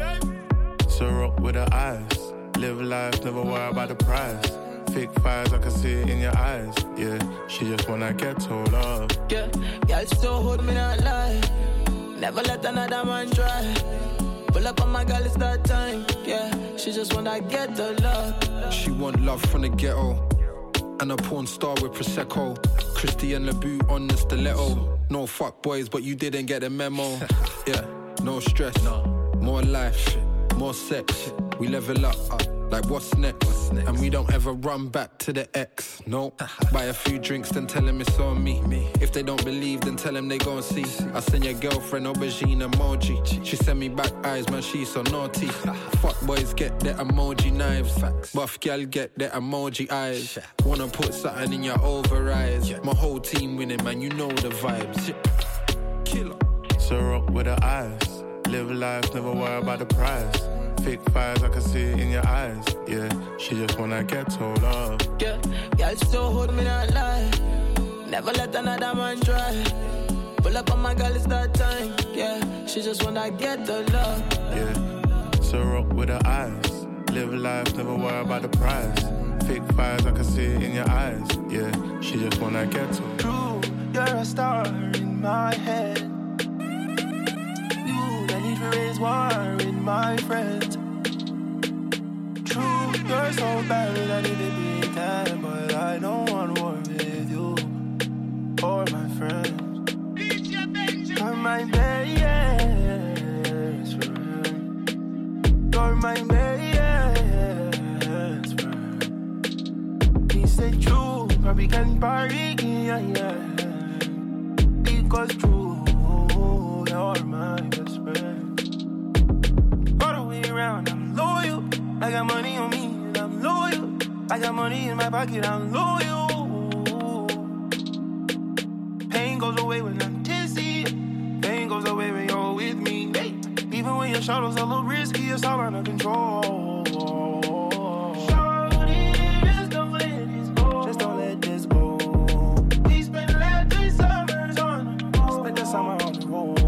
S7: So rock with her eyes. Live life, never worry about the price. Fake fires, I can see it in your eyes. Yeah, she just wanna get told off.
S8: Yeah, girl still hold me that lie. Never let another man try. Pull up on my girl, it's that time. Yeah, she just wanna get the love.
S9: She want love from the ghetto. And a porn star with Prosecco. Christian LeBout on the stiletto. No fuck boys, but you didn't get the memo. Yeah, no stress, more life, more sex. We level up, uh, like what's next? what's next? And we don't ever run back to the ex, no. Buy a few drinks, then tell them it's on me. me. If they don't believe, then tell them they gon' see. I send your girlfriend aubergine emoji. She send me back eyes, man, she's so naughty. Fuck boys get their emoji knives. Buff gal get their emoji eyes. Wanna put something in your over eyes. My whole team winning, man, you know the vibes. Killer.
S7: So rock with her eyes. Live life, never worry about the price. Fake fires, I can see it in your eyes. Yeah, she just wanna get told off.
S8: Yeah, girl still hold me that lie. Never let another man try. Pull up on my girl, it's that time. Yeah, she just wanna get the love.
S7: Yeah, so rock with her eyes. Live life, never worry about the price. Fake fires, I can see it in your eyes. Yeah, she just wanna get told.
S21: True, you're a star in my head. You don't need to raise war with my friends. True, you're so bad, I need to be dead, but I don't want war with you or my friends. You're my best friend. You're my best friend. He said true, but we can party, yeah, yeah. Because true, you're my best friend. All the way around, I'm loyal. I got money on me and I'm loyal. I got money in my pocket, I'm loyal. Pain goes away when I'm tipsy. Pain goes away when you're with me. Hey. Even when your shadow's a little risky, it's all under control. Shorty, just don't let this go. Just don't let this go. We spent the last three summers on the road. Spent the summer on the road.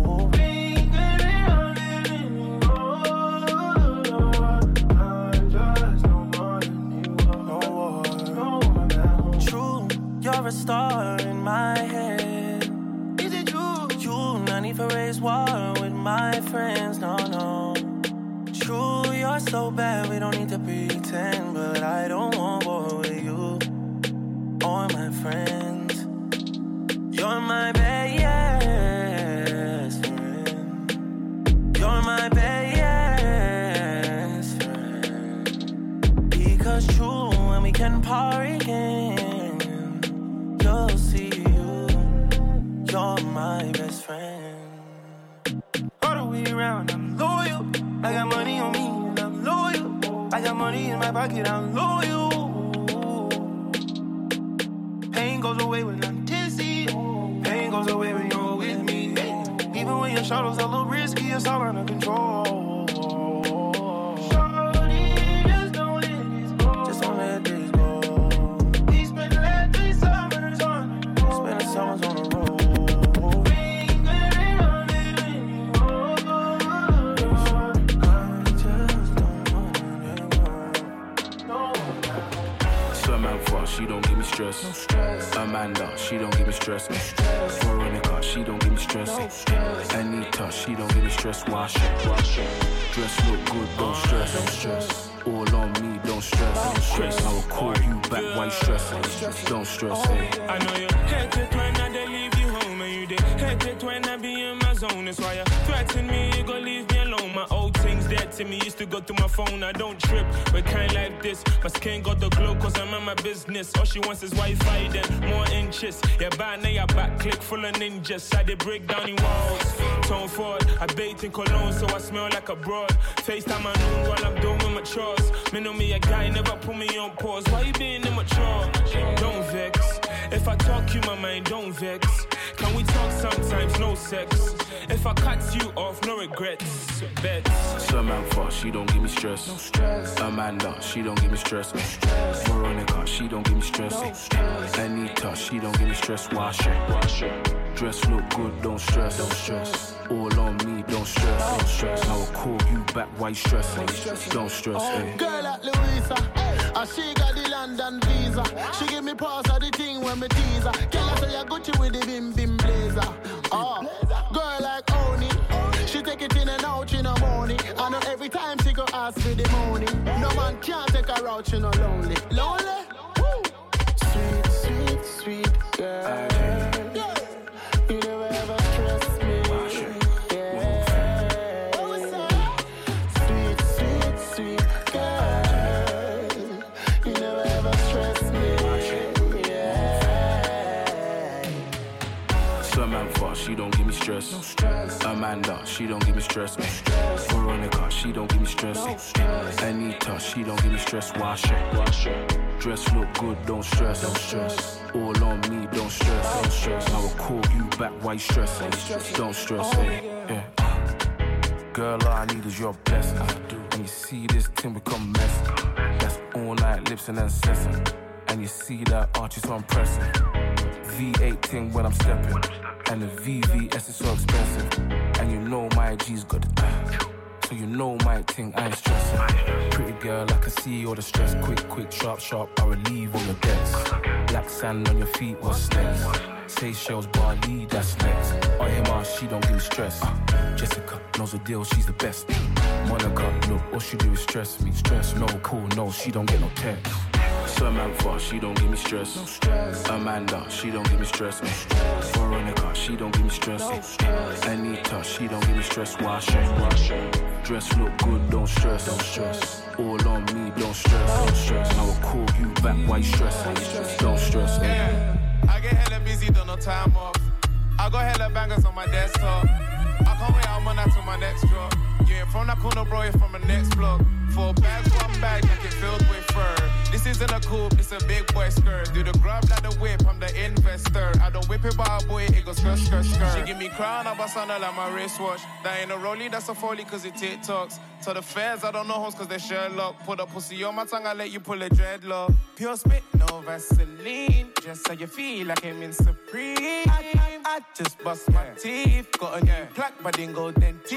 S21: You're a star in my head. Is it true? You not need to raise war with my friends, no, no. True, you're so bad, we don't need to pretend. But I don't want war with you or my friends. You're my best friend. You're my best friend. Because true, when we can party again, you'll see you, you're my best friend. All the way around, I'm loyal. I got money on me and I'm loyal. I got money in my pocket, I'm loyal. Pain goes away when I'm tipsy. Pain goes away when you're with me. Even when your shadow's a little risky, it's all under control.
S5: She don't give me stress. No stress. Amanda, she don't give me stress. No stress. Veronica, she don't give me stress. No stress. Anita, she don't give me stress. Wash it, wash it. Dress look good, don't stress. No stress.
S9: All on me, don't stress. Don't stress. I will call you back while you stressing. Don't stress. Hey.
S5: I know you hate it when I they leave you home, and you they hate it when I be in my zone. That's why you threaten me, you gon' leave me alone. My old things dead to me, used to go to my phone. I don't trip, but kind like this. My skin got the glow, cause I'm in my business. All she wants is Wi-Fi, then more inches. Yeah, bad now your back click full of ninjas. I they break down in walls. Tone forward, I bathe in cologne, so I smell like a broad. FaceTime I know while I'm doing my chores. Me know me a guy, never put me on pause. Why you being immature? Don't vex. If I talk you my mind, don't vex. Can we talk sometimes, no sex? If I cut you off, no regrets. Bets.
S9: Samantha, she don't give me stress. No stress. Amanda, she don't give me stress. No stress. Veronica, she don't give me stress. No stress. Anita, she don't give me stress. Wash it. Wash it. Dress look good, don't stress. Don't stress. All on me, don't stress. Don't stress. I will call you back while you stressing. Don't stress.
S21: Oh,
S9: hey.
S21: girl like Louisa, and she got the London visa. She give me pass of the thing when me tease her. Girl, I say you Gucci with the bim bim blazer. Oh, girl like Oni, she take it in and out in the morning. I know every time she go ask for the money. No man can't take her out, she no lonely. Lonely? Woo. Sweet, sweet, sweet girl. You never ever stress me. Yeah. Sweet, sweet, sweet girl. You never ever stress me. Yeah.
S9: Samantha, she don't give me stress. No stress. Amanda, she don't give me stress. No stress. Veronica, she don't give me stress. No stress. Anita, she don't give me stress. Wash it. Wash it. Dress look good, don't stress. Don't stress. All on me, don't stress. Don't stress. I will call you back while you stressing. Don't stress. Hey. Yeah. Girl, all I need is your blessing. And you see this thing become messy. That's all night lips and incessant. And you see that arch is so impressive. V eight thing when I'm stepping. And the V V S is so expensive. And you know my G's got it. So you know my thing, I ain't stressing. Pretty girl, I can see all the stress. Quick, quick, sharp, sharp, I relieve all your debts. Black sand on your feet, what's next? Seychelles, Bali, that's next. On him, ah, she don't give me stress. uh, Jessica knows the deal, she's the best. Monica, look, all she do is stress me. Stress, no, cool, no, she don't get no text. Samantha, she don't give me stress. No stress. Amanda, she don't give me stress. No stress. Veronica, she don't give me stress. No stress. Anita, she don't give me stress. Wash it. Wash it. Dress look good, don't stress. Don't stress. All on me, don't stress. Don't stress. I will call you back while you stressing. Don't stress.
S10: Yeah. I get hella busy, don't no time off. I got hella bangers on my desktop. I can't wait, I'm on that to my next drop. You ain't from that corner, bro, you're from the next block. Four bags, one bag, jacket filled with fur. This isn't a coupe, it's a big boy skirt. Do the grab like the whip, I'm the investor. I don't whip it by a boy, it goes skirt, skirt, skirt. She give me crown, I bust on her like my wristwatch. That ain't a rollie, that's a foley, cause it TikToks. To the feds, I don't know hoes, cause they Sherlock. Put a pussy on my tongue, I let you pull a dreadlock. Pure spit, no Vaseline. Just so you feel like I'm in Supreme. I, I, I just bust my teeth. Got a new plaque, but didn't go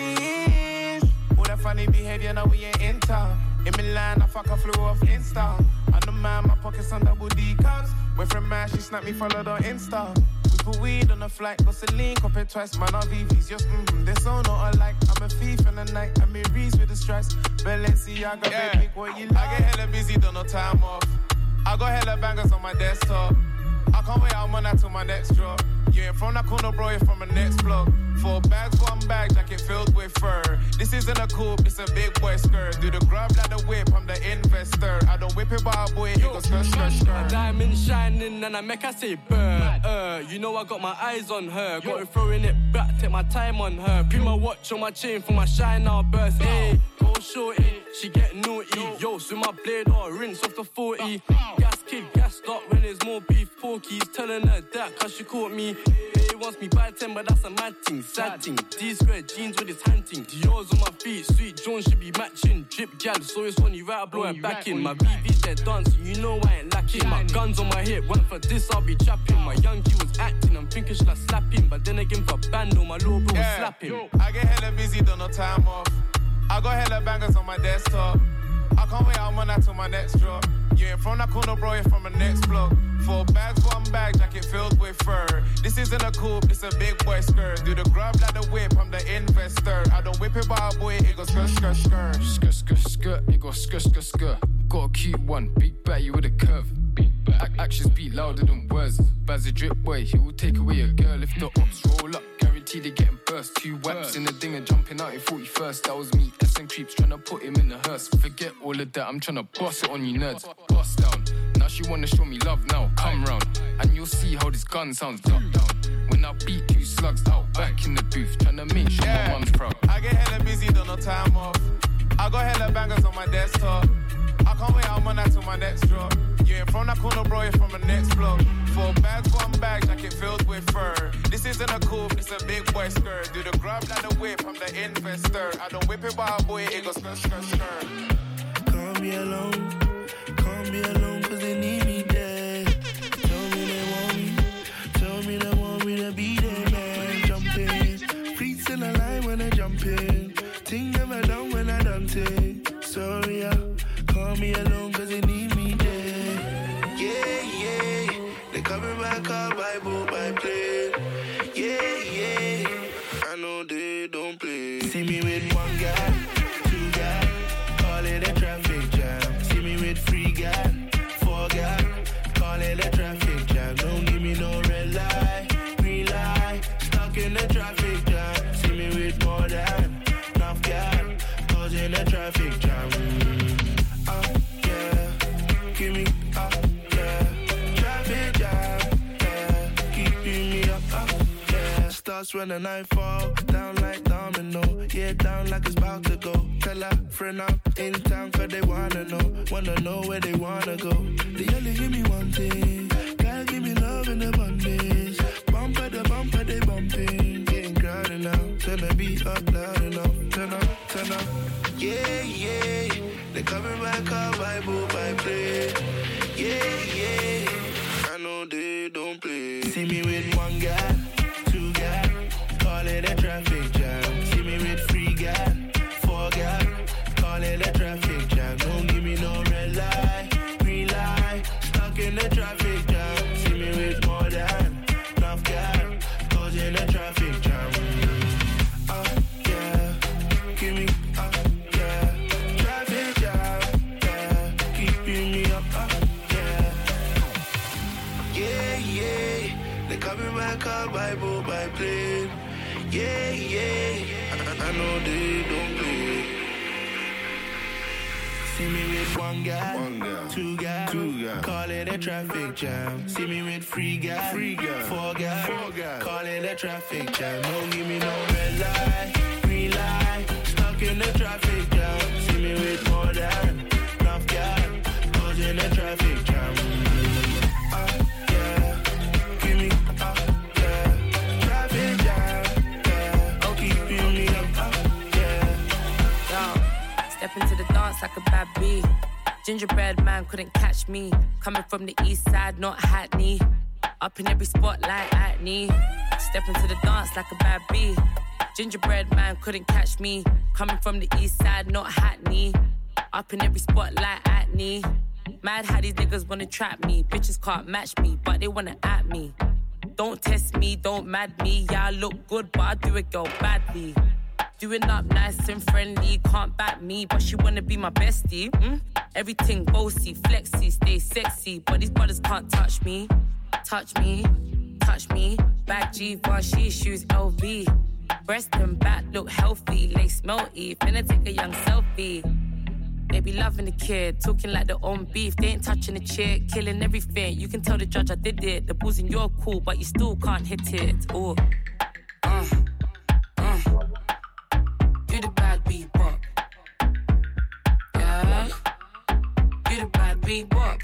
S10: dentist. All that funny behavior, now we ain't in town. In Milan, I fuck, I flew off Insta. I'm the man, my pockets on double D cups. Went from man, she snapped me, followed on Insta. We put weed on the flight, got Celine, cop it twice, man, our V Vs. Just, mm-hmm, they're so not alike. I'm a thief in the night, I'm in Reese with the stripes. Balenciaga, yeah. Baby, what you like? I get hella busy, don't no time off. I got hella bangers on my desktop. I can't wait, I'm on that to my next drop. You ain't from that corner, bro, you're from the next block. Four bags, one bag, jacket filled with fur. This isn't a coupe, it's a big boy skirt. Do the grab like the whip, I'm the investor. I don't whip it by a boy, it goes skirt, skirt, skirt.
S12: A diamond shining and I make her say burr. Uh, you know I got my eyes on her. Got her throwing it back, take my time on her. Put my watch on my chain for my shine now burst. Hey, go shorty, she get naughty. Yo, swim my blade or rinse off the forty. Gas kid, gas up when there's more beef. Porkies telling her that cause she caught me. He wants me by ten, but that's a mad thing. Sad thing. D square jeans with his hunting. Dior's on my feet, sweet Jones should be matching. Drip gal, so it's funny, right? I blow her back in. My B B's they're dancing, you know I ain't lacking. My guns on my hip, went for this, I'll be trapping. My young G was acting, I'm thinking should I slap him? But then again for bando, my little bro yeah. was slapping.
S10: I get hella busy, don't no time off. I got hella bangers on my desktop. I can't wait, I'm on that to my next drop. You ain't from that corner, bro, you're from the next block. Four bags, one bag, jacket filled with fur. This isn't a coupe, this a big boy skirt. Do the grab like the whip, I'm the investor. I don't whip it by a boy, it goes skirt, skirt, skirt.
S9: Skirt, skirt, skirt, it goes skirt, skirt, skirt. Got a cute one, big batty with a curve. Ac- actions beat louder than words. Baz a drip boy, he will take away a girl if the ops roll up. Guaranteed they getting burst. Two whaps in the ding and jumping out in forty-first. That was me, S and creeps tryna put him in the hearse. Forget all of that, I'm tryna bust it on you nerds. Bust down, now she wanna show me love now. Come round, and you'll see how this gun sounds. Duck down, when I beat two slugs out back in the booth. Tryna make sure
S10: yeah.
S9: my mum's proud.
S10: I get hella busy, don't no time off. I got hella bangers on my desktop. I can't wait, I'm on that till my next drop. You ain't from that corner, bro, you're from the next block. Four bags, one bag, jacket filled with fur. This isn't a coupe, it's a big boy skirt. Do the grab like the whip, I'm the investor. I don't whip it by a boy, it goes skirt, skirt, skirt.
S21: Can't be alone, can't be alone, cause they need me there. Tell me they want me, tell me they want me to be there, man. Jump in, feet in the line when I jump in. Ting never done when I done take. Sorry, I call me alone cause they need me there. Yeah, yeah. They coming back up by boat, by plane. Yeah, yeah. I know they don't play. See me with one guy, two guy, call it a traffic jam. See me with three guy, four guy, call it a traffic jam. Don't give me no red light, green light, stuck in the traffic jam. See me with more than enough guy, causing a traffic jam. Give me up, yeah. Traffic jam, yeah. Keeping me up, up, yeah. Starts when the night fall, down like domino. Yeah, down like it's about to go. Tell a friend I'm in town cause they wanna know. Wanna know where they wanna go. They only give me one thing. Gotta give me love in abundance. Bumper the bumper, they bumping. Getting crowded now. Turn the beat up loud enough. Turn up, turn up. Yeah, yeah. They coming back up by boat, by plane. Yeah, yeah. I know they don't play. See me with one guy, two guy, call it a traffic jam. See me with three guy, four guy, call it a traffic jam. Don't give me no red light, green light, stuck in the traffic jam. See me with more than enough guy, causing a traffic jam. Uh, yeah, give me up. Coming back up by boat, by plane. Yeah, yeah. I, I know they don't play. See me with one guy, one guy, two guy, two guy, call it a traffic jam. See me with three guy, three guy, four guy, four guy, call it a traffic jam. Don't give me no red light, green light, stuck in the traffic jam. See me with more than enough guy, causing a traffic jam. Uh, yeah, give me.
S2: Step into the dance like a bad bee. Gingerbread man couldn't catch me. Coming from the east side, not Hackney. Up in every spot like Hackney. Step into the dance like a bad bee. Gingerbread man couldn't catch me. Coming from the east side, not Hackney. Up in every spot like Hackney. Mad how these niggas wanna trap me. Bitches can't match me, but they wanna at me. Don't test me, don't mad me. Yeah, I look good, but I do it, girl, badly. Doing up nice and friendly, can't back me, but she wanna be my bestie. Mm? Everything bossy, flexy, stay sexy, but these brothers can't touch me. Touch me, touch me. Back G-Var, she shoes L V. Breast and back look healthy, lace melty. Finna take a young selfie. They be loving the kid, talking like their own beef. They ain't touching the chick, killing everything. You can tell the judge I did it. The balls in your cool, but you still can't hit it. Oh, uh, uh. You the bad beat bop. Yeah. You the bad beat bop.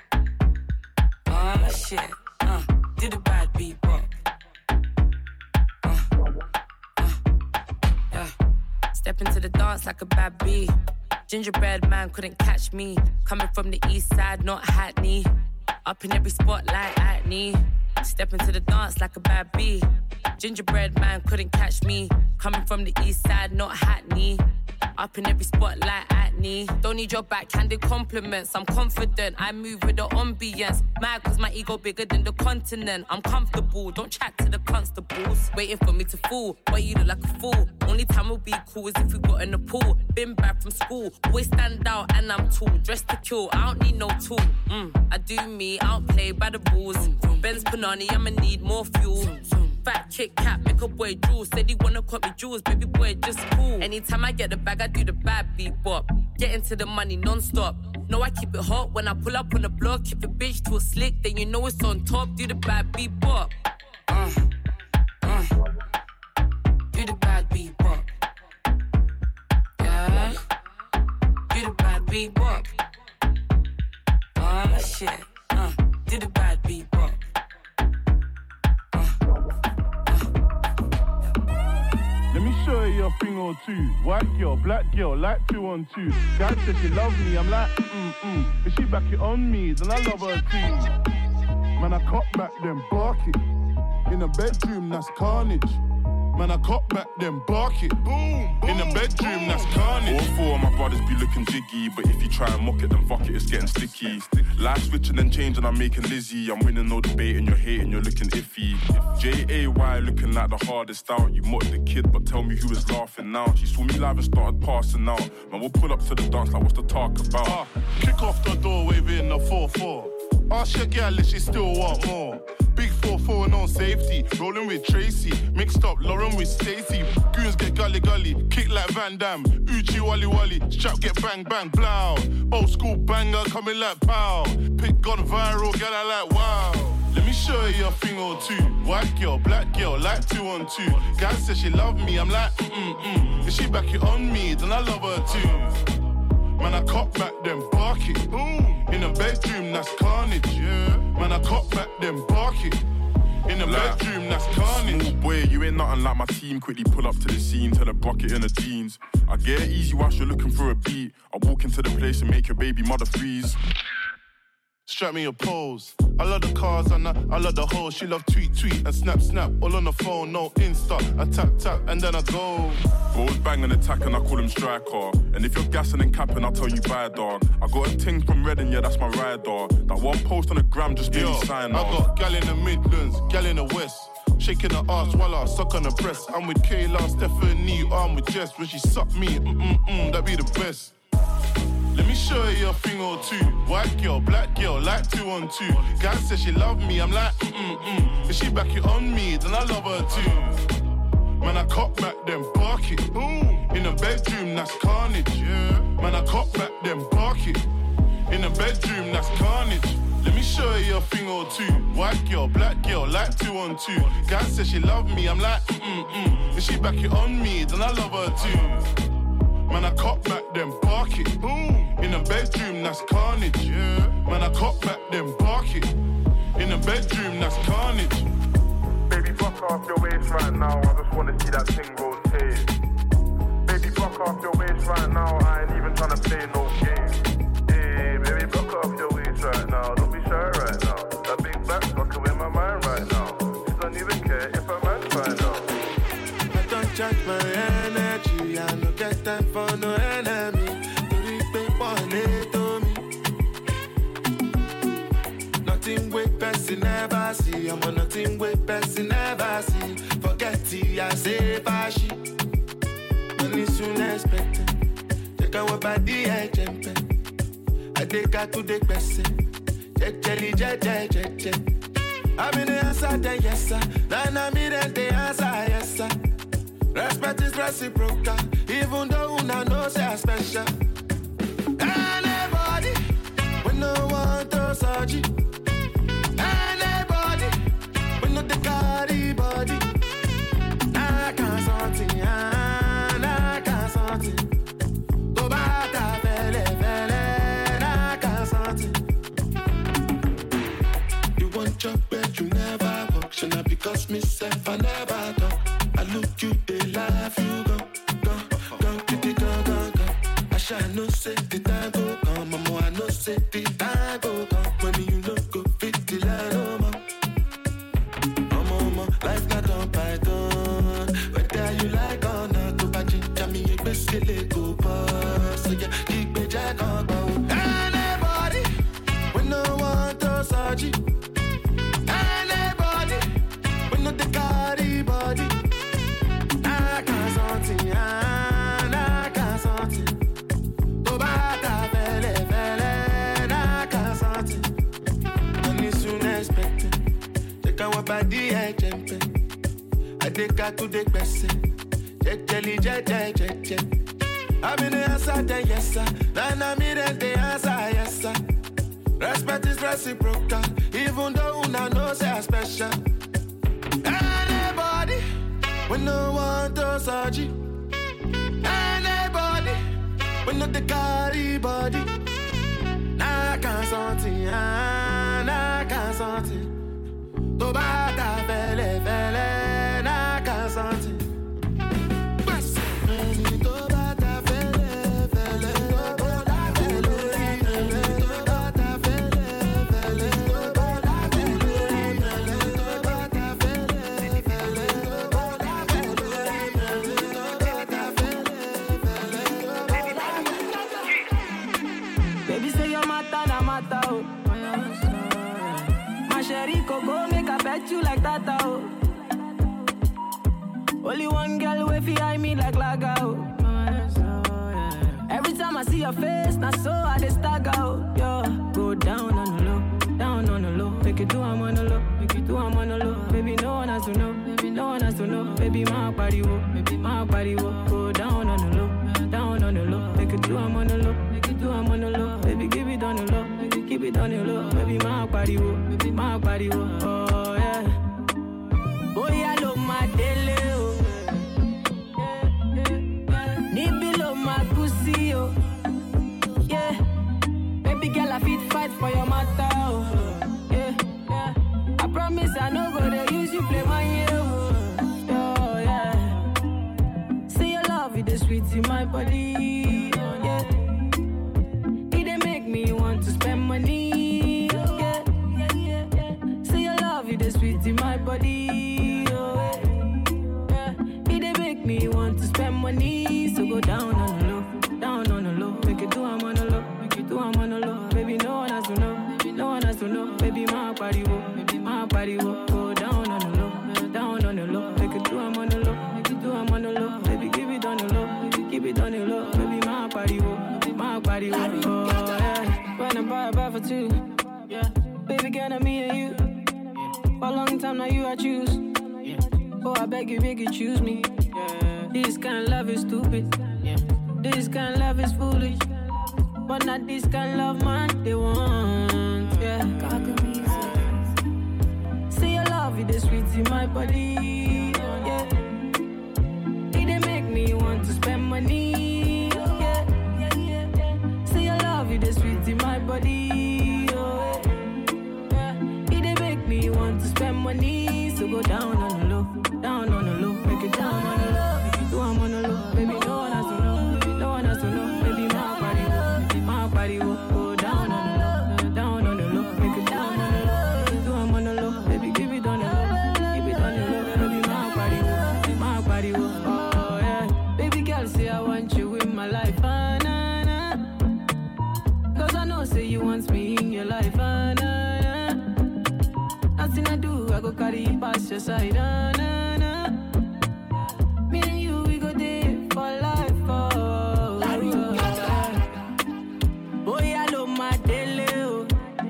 S2: Oh shit. Uh. You the bad beat bop. Uh. Uh. Yeah. Step into the dance like a bad bee. Gingerbread man couldn't catch me. Coming from the east side, not Hackney. Up in every spot like Hackney. Step into the dance like a bad bee. Gingerbread man couldn't catch me. Coming from the east side, not Hackney. Up in every spot like acne. Don't need your backhanded compliments. I'm confident, I move with the ambience. Mad cause my ego bigger than the continent. I'm comfortable, don't chat to the constables. Waiting for me to fall, but you look like a fool. Only time we'll be cool is if we got in the pool. Been back from school, always stand out and I'm tall. Dressed to kill, I don't need no tool. Mm, I do me, I don't play by the rules. Benz Panani, I'ma need more fuel. Fat Kit Kat, make a boy drool. Said he wanna cut me jewels, baby boy, just cool. Anytime I get the bag, I do the bad beat bop. Get into the money non-stop. No, I keep it hot when I pull up on the block. Keep the bitch too slick, then you know it's on top. Do the bad beat bop. Uh, uh. Do the bad beat bop. Yeah. Do the bad beat bop. Oh shit. Uh, do the bad beat bop.
S21: Let me show you a thing or two. White girl, black girl, like two on two. Guy says she loves me, I'm like, mm-mm. If she back it on me, then I love her too. Man, I cop back them bark it. In the bedroom, that's carnage. Man, I cop back them bark it. Boom, boom, in the bedroom, boom. That's carnage.
S13: All four of my brothers be looking jiggy, but if you try and mock it, then fuck it, it's getting sticky. Life switching and changing, I'm making Lizzie. I'm winning no debate and you're hating, you're looking iffy. J A Y looking like the hardest out. You mocked the kid, but tell me who is laughing now. She saw me live and started passing out. Man, we'll pull up to the dance like what's the talk about?
S21: Uh, kick off the door, waving the four four. Ask your gal if she still want more. Big four four and on safety. Rolling with Tracy. Mixed up Lauren with Stacey. Goons get gully gully. Kick like Van Damme. Uchi wally wally. Strap get bang bang blow. Old school banger coming like pow. Pick gone viral, get I like wow. Let me show you a thing or two. White girl, black girl, like two on two. Guy says she love me, I'm like mm-mm. If she back it on me, then I love her too. Man, I cop back them bark it. Boom. In the bedroom, that's carnage. Yeah. Man, I cop back them bark it. In the like, bedroom, that's carnage.
S13: Small boy, you ain't nothing like my team. Quickly pull up to the scene, tell the bucket in the jeans. I get it easy whilst you're looking for a beat. I walk into the place and make your baby mother freeze.
S21: Strap me a pose. I love the cars and I, I love the hoes. She love tweet, tweet and snap, snap. All on the phone, no Insta. I tap, tap and then I go.
S13: Bros bang and attack and I call him striker. And if you're gassing and capping, I'll tell you bye, dog. I got a ting from Reading, yeah, that's my ride, dog. That one post on the gram just made me sign
S21: I
S13: off.
S21: got gal in the Midlands, gal in the West. Shaking her ass while I suck on the breast. I'm with Kayla, Stephanie, I'm with Jess. When she suck me, mm-mm-mm, that be the best. Let me show you a thing or two. White girl, black girl, like two on two. Guy says she love me, I'm like mm-mm-mm. If she back it on me, then I love her too. Man, I cop back them bark it. Boom. In the bedroom, that's carnage. Yeah. Man, I cop back them bark it. In the bedroom, that's carnage. Let me show you a thing or two. White girl, black girl, like two on two. Guy says she love me, I'm like mm-mm-mm. If she back it on me, then I love her too. Man, I cop back them bark it. Boom. In the bedroom, that's carnage. Yeah. Man, I cop back them bark it. In the bedroom, that's carnage.
S16: Baby, fuck off your waist right now. I just wanna see that thing rotate. Baby, fuck off your waist right now. I ain't even tryna play no game. Hey, baby, fuck off your waist right now. Don't be shy right now. That big back's fucking with my mind right now. She don't even care if a man find out.
S21: I don't charge my energy. I don't get time for no enemy. Nothing with person never see. I'm on nothing with person never see. Forget it, I say bashi. Money soon expected. Take our body, I jump. I take her to the person. Check, jelly, check, check, check, check. I'm in the answer, then yes, sir. Then I'm in the answer, yes, sir. Respect is reciprocal. Even though I know say special. Anybody, when no one throws surgery. Anybody, when no the carry body. I can't something, I can't something. Go back to fele, fele, I can't something. You want your bed, you never walk. Should not because myself, I never talk. I look you, they laugh, you go, go, go, go, go, go, go. I shall no say the time go come, mama, I no say the time go come. When you look go fit the line, oh, surgery. Anybody, we know the carry body. I can't something, I can't something. To bata fele fele, I can't something. Money soon expected. Take our body, I jump in. I take her to the question. Check, jelly, check, check, check, check. I'm in the answer, then yes, sir. Then I'm in the answer, yes, sir. Respect is reciprocal, even though I know say I'm special. Anybody, we no want to surgery. Anybody, we no the carry body. Nah, can't something, nah, can't something. To bata fele fele, nah, can't something.
S8: You like that, oh. Only one girl way behind me like Laga, oh. Every time I see your face, not so I just stagger, oh. Yo, go down on the low, down on the low. Make it do I'm on the low, make it do I'm on the low. Baby, no one has to know, baby, no one has to know. Baby, my body, wo, baby, my body, wo. Go down on the low, down on the low. Make it do I'm on the low, make it do I'm on the low. Baby, give it on the low, make it keep it on the low. Baby, my body, wo, baby, my body, wo. Oh yeah. Boy, I love my dele, oh. Nibi love my pussy, oh. Yeah. Baby girl, I fit fight for your matter, oh. Yeah. Yeah. I promise I no go to use you play my year, oh. Oh, yeah. See your love, it is sweet in my body, oh, yeah. It dey make me want to spend money, oh, yeah. Yeah, yeah, yeah. See your love, it is sweet in my body. Me want to spend money, so go down on the low, down on the low. Make it do I'm on the low, make it do I'm on the low. Baby, no one has to know, no one has to know. Baby, my body wo, baby, my body wo. Go down on the low, down on the low. Make it do I'm on the low, make it do I'm on the low. Baby, give it on the low, baby, keep it on the low. Baby, my body wo, my body wo. Oh yeah, when I buy a buy for two, yeah. Baby, girl, I'm me and you. For a long time now, you I choose. Oh, I beg you, beg you, choose me. Yeah. This kind of love is stupid. Yeah. This kind of love is foolish. But not this kind of love, man, they want. Yeah. See your love, it is sweet in my body. Yeah. It dey make me want to spend money. Yeah. Yeah, yeah, yeah. See your love, it is sweet in my body. Oh, yeah. It dey make me want to spend money. So go down on the low, down on the low, make it down on the low, make it do I'm on the low, baby, no one has to know, baby, no one has to know, baby, my body wo, baby, my body wo, go down on the low, down on the low, make it down on the low, make it do I'm on the low, baby, give it on the low, keep it on the low, baby, my body wo, baby, my body wo, oh yeah, baby girl say I want you in my life, ah nah nah, cause I know say you want me in your life, ah nah nah, nothing I do, I go carry you past your side, ah nah nah. Me and you, we go there for life, oh. Boy, I love my dele, oh.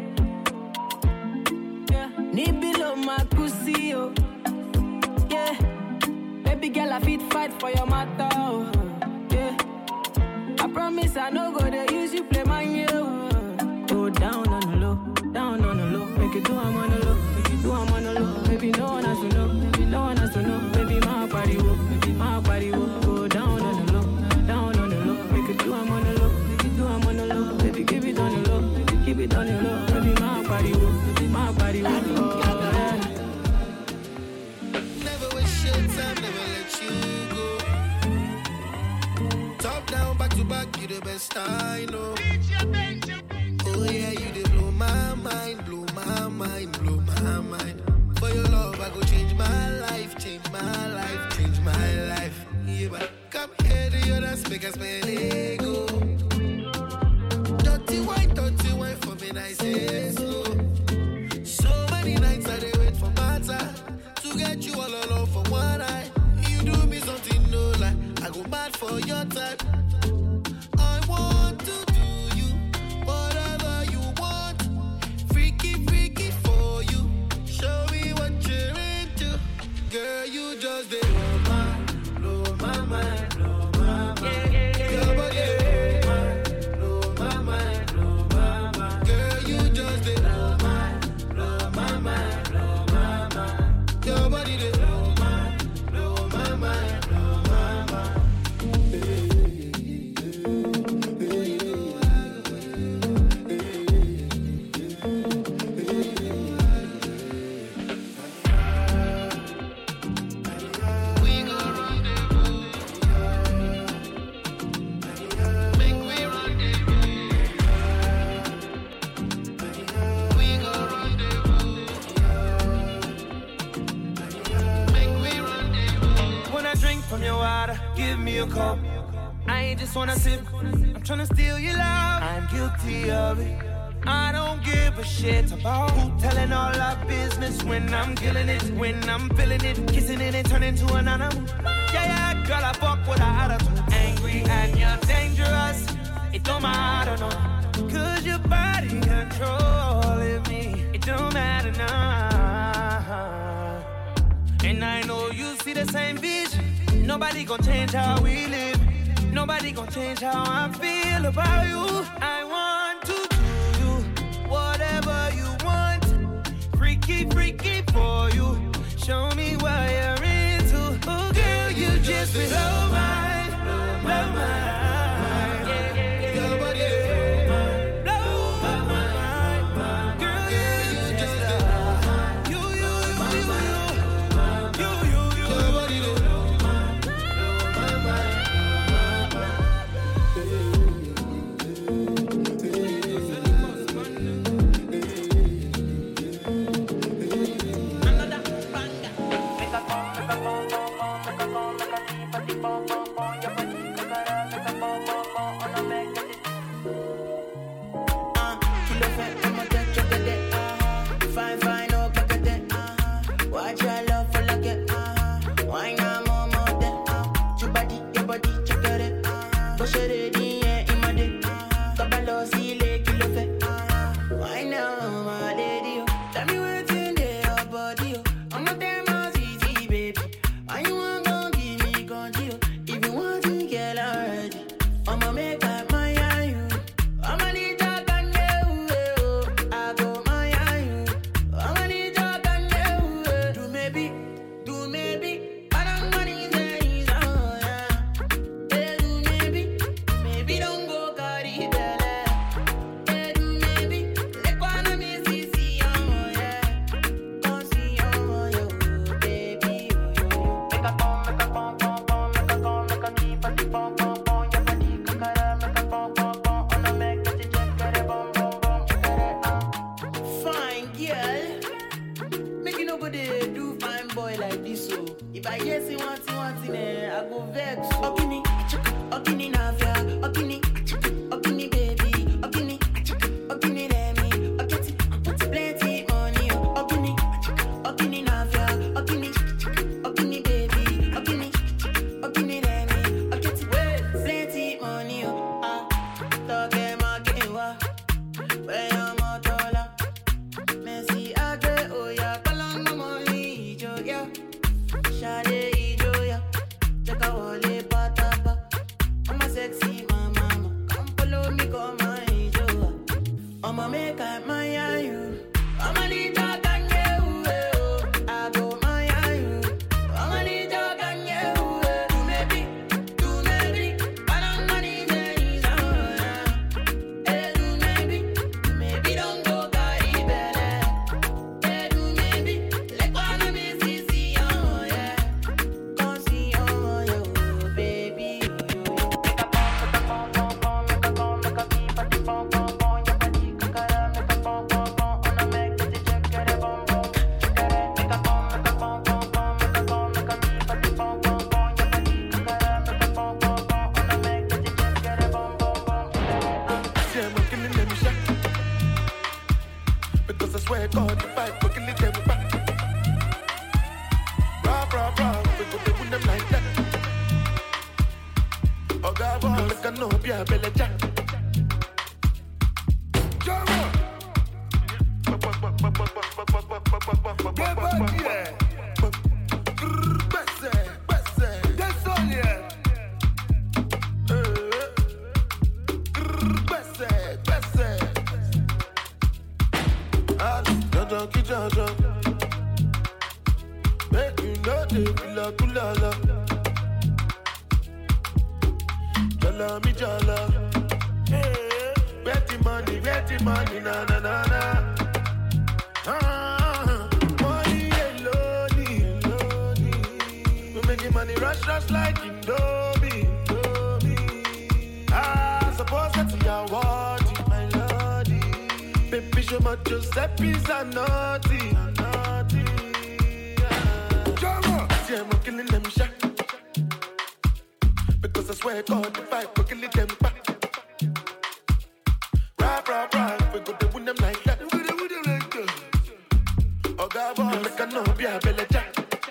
S8: Yeah. Nibi love my pussy, oh. Yeah. Baby girl, I fit fight for your matter, oh. Yeah. I promise I no go to use you play my year, oh. Go down on the low, down on the low. Make it do I'm on the low, make it do I'm on the low. Baby, no one has to know, baby, no one has to know. Baby, my body wo, baby, my body wo. Go down on the low, down on the low. Make it do I'm on the low, make it do I'm on the low. Baby, give it on the low, baby, keep it on the low. Baby, my body wo, baby, my body wo. Oh, yeah.
S21: Never waste your time, never let you go. Top down, back to back, you the best I know. Oh yeah, you did blow my mind, blow my mind, blow my mind. For your love, I go change my life, change my life, change my life. Yeah, but come here to your dance, make us spend ego. Dirty wine, dirty wine for me, I say slow.
S11: many nights I did wait for my time to get you all alone for one night. You do me something no lie, I go mad for your type. I want to do you whatever you want, freaky freaky for you. Show me what you're into, girl. You just did blow my, blow my mind, blow my mind. Yeah, yeah, yeah, your body, yeah. Give me a cup. I ain't just wanna sip. I'm tryna steal your love. I'm guilty of it. I don't give a shit about who telling all our business when I'm killing it, when I'm feeling it, kissing it and turning to an animal. Yeah, yeah, girl, I fuck with her attitude. Angry and you're dangerous. It don't matter, no. Cause your body controlling me. It don't matter now. And I know you see the same vision. Nobody gon' change how we live. Nobody gon' change how I feel about you. I want to do you whatever you want. Freaky, freaky for you. Show me what you're into. Oh, girl, you just blow my, blow my. Sexy
S21: Because I swear God, if I go kill them back. Rah, rah, rah, we go win them like that. Oh God, boy, make a no be a belly jack. Jama! Get back here! Besse, Besse, that's all yeah. Besse, Besse. Jojo, ki Jojo. Make you know the kula kula la. Jala mi jala. Where the money, where the money, na na na na. Ah, money alone, alone. We making money rush, rush like Indomie, Indomie. Ah, suppose that's your word, my lordy. Baby, show my Giuseppe's a naughty, naughty. Jama, see I'm killing them shot. Because I swear God, if I go kill them back. Rap, rap, rap, we go to win them like that. We go to win them like that. Oh God, boy, make a no be a belly jack.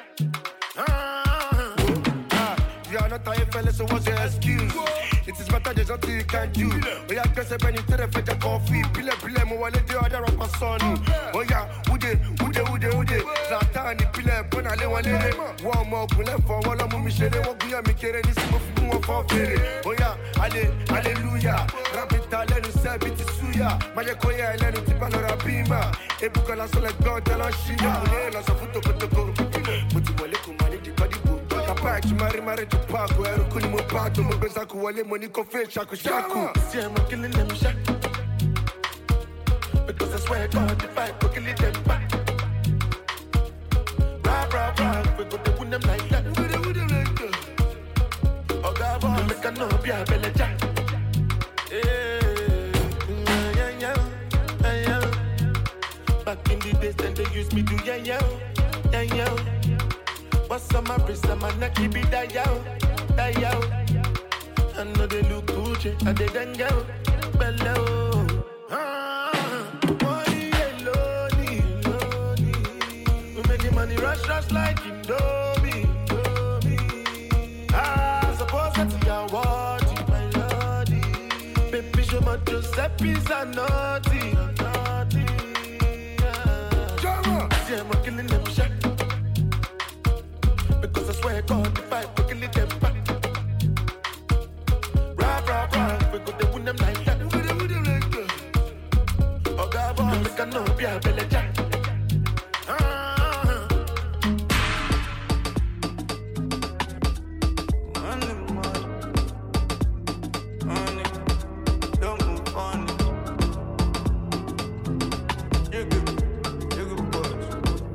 S21: Ah, you are not a fella, so what's your excuse? It is better there's nothing you can do. Oh yeah, guess I bring you to the fetch a coffee. Pile, pile, mo wale de other of my son. Oh yeah, ude, ude, ude, ude. Zatani, pile, pona le wale. One more, pule for one of me shele. What we are making this move for fere. Oh yeah, alle, hallelujah. Rapita, let us say it is suya. Maya koya, let us tipa no rapima. Ebuka la sola God, la shida. Mune la safuto kotoko. Muti wale kumani di kadi bu. Kapag chumari mare to park. Where kuni mo pato mo beza kuwale money kofe shaku shaku. See I'm killing them shak. Because I swear God, if I go kill them back. Rah rah rah, we go to win them like that. We go to win them like that. Oh God, boy, make a no be a belly jack. Yeah, yeah, yeah, yeah. Back in the days, then they used me to yeah, yeah, yeah, yeah. What's on my wrist, on my neck, keep it that yo, that yo. I know they look Gucci, I didn't go below. Ah, money alone, alone. We making money rush, rush like Indomie, Indomie. Ah, suppose that's your word, my lordy. Baby, show my Giuseppe's a naughty, naughty. Jama, see I'm killing them shot. Because I swear God, if I go kill them back. Rap, rap, rap, we go to win them like that. We go to win them like that. Oh God, boy, make a no be a belly jack. Ah. Money, money, money, don't move on. You good, you good boys.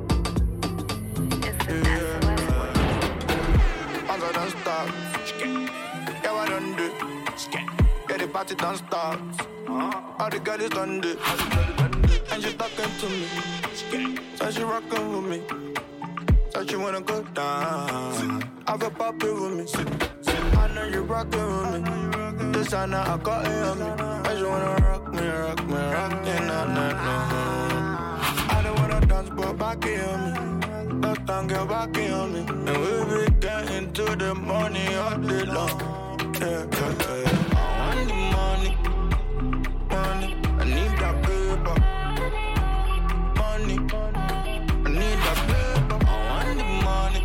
S21: Don't stop. Yeah, I don't do. Yeah, the party don't stop. All the girls done do. And she talking to me. So she rocking with me. So she wanna go down. Have a puppy with me. I know you rocking with me. This I know I got it on me. And she wanna rock me, rock me, rock me, nah, nah, nah. I don't wanna dance, but back it on me. That time get back on me. And we be getting to the money all day long. Yeah, yeah, yeah. I want the money, money. I need that paper. Money, I need that paper. I want the money,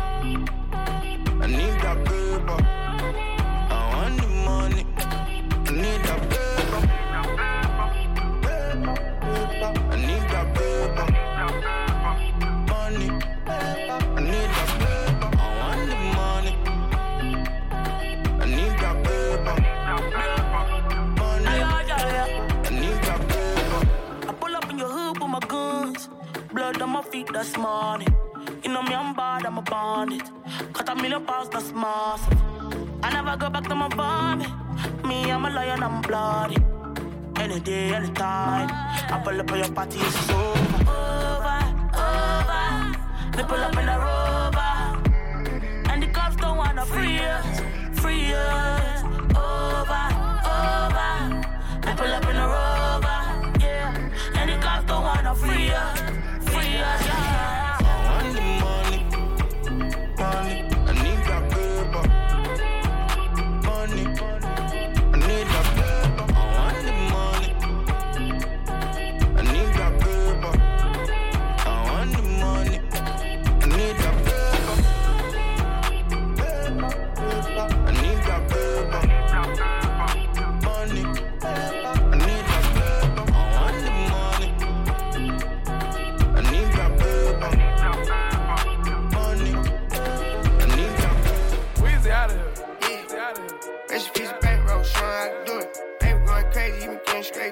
S21: I need that paper. I want the money, I need that paper. I need that paper. Money, I need that paper. I want the money. I need that paper. Money, I need that paper.
S8: I pull up in your hood with my guns. Blood on my feet, that's money. You know me, I'm bad, I'm a bandit. Cut a million pounds, that's massive. I never go back to my vomit. Me, I'm a lion, I'm bloody. Any day, any time. I pull up on your party, it's over. Over, over. They pull up in the rover. And the cops don't wanna free us, free us. Over, over. They pull up in the rover, yeah. And the cops don't wanna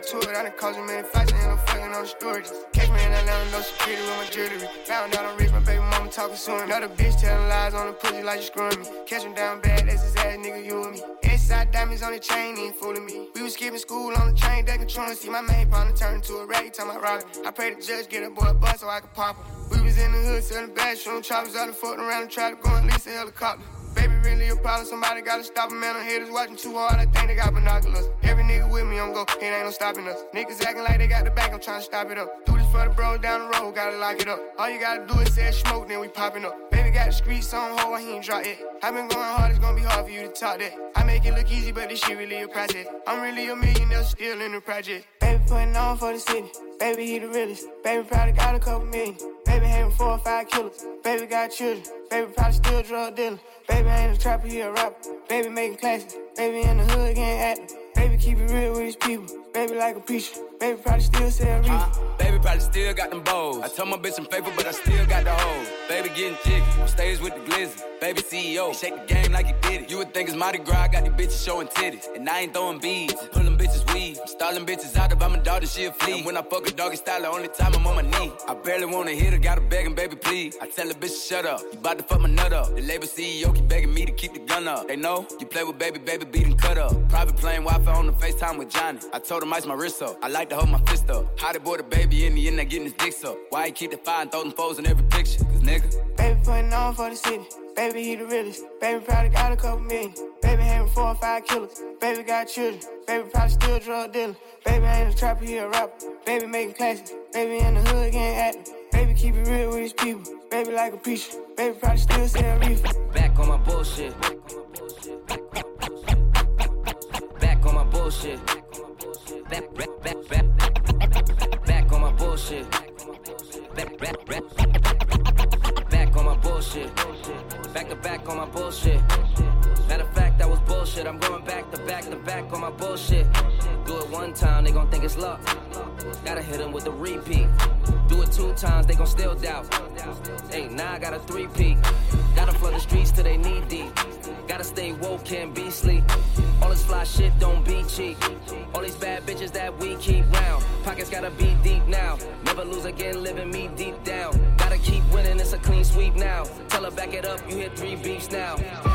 S4: into it. I done caused a million fights and I'm fucking on the storage. Catch me in Atlanta, no security with my jewelry. Found out I'm rich, my baby mama talking soon. Another bitch telling lies on the pussy like you screwing me. Catch him down bad, that's his ass, nigga, you and me. Inside diamonds on the chain, he ain't fooling me. We was skipping school on the train, they controlling. See my main partner turn into a rat, he talking about robbing. I pray the judge get a boy a bus so I could pop him. We was in the hood selling bad, shooting choppers out and fucking around and tried to go and lease a helicopter. Baby, really a problem, somebody gotta stop him, man. I'm haters watching too hard, I think they got binoculars. Every nigga with me on go, it ain't no stopping us. Niggas acting like they got the back, I'm trying to stop it up. Do this for the bros down the road, gotta lock it up. All you gotta do is say smoke, then we popping up. Baby got the streets on hold, he ain't drop it. I been going hard, it's gonna be hard for you to talk that. I make it look easy, but this shit really a project. I'm really a millionaire, still in the project. Baby putting on for the city, baby he the realest. Baby probably got a couple million. Baby having four or five killers. Baby got children. Baby probably still drug dealing. Baby ain't a trapper, he a rapper. Baby making classes. Baby in the hood getting active. Baby keep it real with his people. Baby like a preacher. Baby probably still sell reefer.
S17: Uh, baby probably still got them bows. I told my bitch I'm faithful, but I still got the hoes. Baby getting jiggy. On stage with the glizzy. Baby C E O. He shake the game like he did it. You would think it's Mardi Gras. I got these bitches showing titties. And I ain't throwing beads. I'm pulling bitches weed. I'm stalling bitches out. If I'm a daughter, she a flea. And when I fuck a doggy style, the only time I'm on my knee. I barely wanna hit her. Gotta beg him, baby, please. I tell the bitch to shut up. You bout to fuck my nut up. The label C E O keep begging me to keep the gun up. They know you play with baby, baby, beat and cut up. Private plane Wi-Fi on the FaceTime with Johnny. I told him ice my wrist up. I like to hold my fist up. How they boy the baby in the end, they getting his dicks up. Why he keep the fire and throw them foes in every picture? Cause nigga,
S4: baby putting on for the city. Baby he the realest. Baby probably got a couple million. Baby having four or five killers. Baby got children. Baby probably still drug dealing. Baby ain't a trapper, he a rapper. Baby making classes. Baby in the hood getting active. Baby keep it real with his people. Baby like a preacher. Baby probably still sell reefer.
S18: Back on my bullshit. Back on my bullshit. Back, back, back, back. Back on my bullshit. Back, back, back. Back on my bullshit. Back to back on my bullshit. Matter of fact, that was bullshit. I'm going back to back to back on my bullshit. Do it one time, they gon' think it's luck. Gotta hit them with the repeat. Do it two times, they gon' still doubt. Hey, now I got a three-peat. Gotta flood the streets till they knee deep. Gotta stay woke, can't be sleep. All this fly shit don't be cheap. All these bad bitches that we keep round. Pockets gotta be deep now. Never lose again, living me deep down. Gotta keep winning, it's a clean sweep now. Tell her back it up, you hit three beefs now.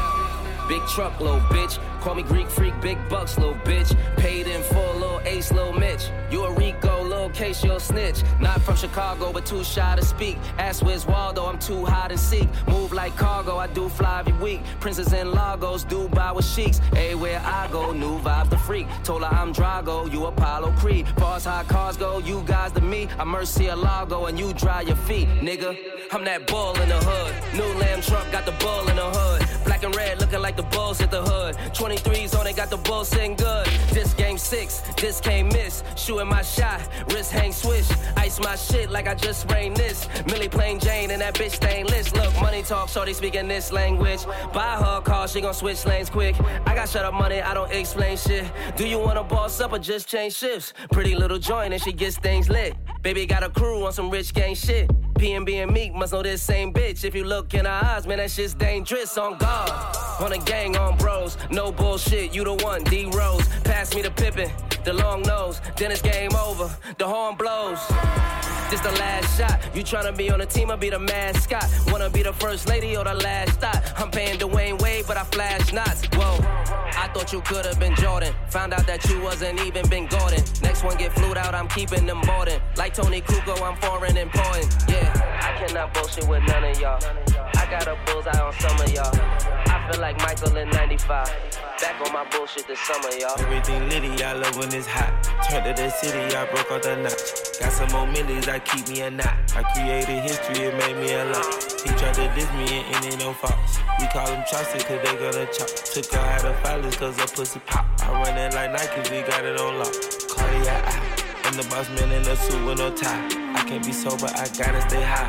S18: Big truck, little bitch. Call me Greek freak, big bucks, little bitch. Paid in full, little ace, little Mitch. You a Rico, little case, you'll snitch. Not from Chicago, but too shy to speak. Ask where's Waldo, I'm too high to seek. Move like cargo, I do fly every week. Princess in Lagos, Dubai with sheiks. Everywhere I go, new vibe the freak. Told her I'm Drago, you Apollo Creed. Far as how cars go, you guys to me. I'm Murcielago and you dry your feet, nigga. I'm that bull in the hood. New lamb truck, got the bull in the hood. Black and red, looking like the Bulls hit the hood. twenty-threes on it, got the Bulls sitting good. This game six, this can't miss. Shooting my shot, wrist hang swish. Ice my shit like I just sprained this. Millie plain Jane and that bitch stainless. Look, money talk, shorty speaking this language. Buy her a car, she gon' switch lanes quick. I got shut up money, I don't explain shit. Do you wanna boss up or just change shifts? Pretty little joint and she gets things lit. Baby got a crew on some rich gang shit. P and B and Meek must know this same bitch. If you look in her eyes, man, that shit's dangerous. On guard, on a gang, on bros. No bullshit, you the one, D Rose. Pass me the Pippin, the long nose. Then it's game over, the horn blows. This the last shot. You tryna be on the team or be the mascot? Wanna be the first lady or the last stop? I'm paying Dwayne Wade, but I flash knots. Whoa, I thought you could've been Jordan. Found out that you wasn't even Ben Gordon. Next one get flued out, I'm keeping them boarding. Like Tony Kukoc, I'm foreign important. Yeah, I cannot bullshit with none of y'all. I got a bullseye on some of y'all. I feel like Michael in ninety-five. Back on my bullshit this summer, y'all.
S24: Everything litty, I love when it's hot. Turned to the city, I broke all the knots. Got some more millies, I keep me a knot. I created history, it made me a lot. He tried to diss me and it ain't no fault. We call him Chaucer cause they gonna chop. Took her out of filers cause her pussy pop. I run it like Nike, we got it on lock. Cardiac eye. I'm the boss man in a suit with no tie. I can't be sober, I gotta stay high.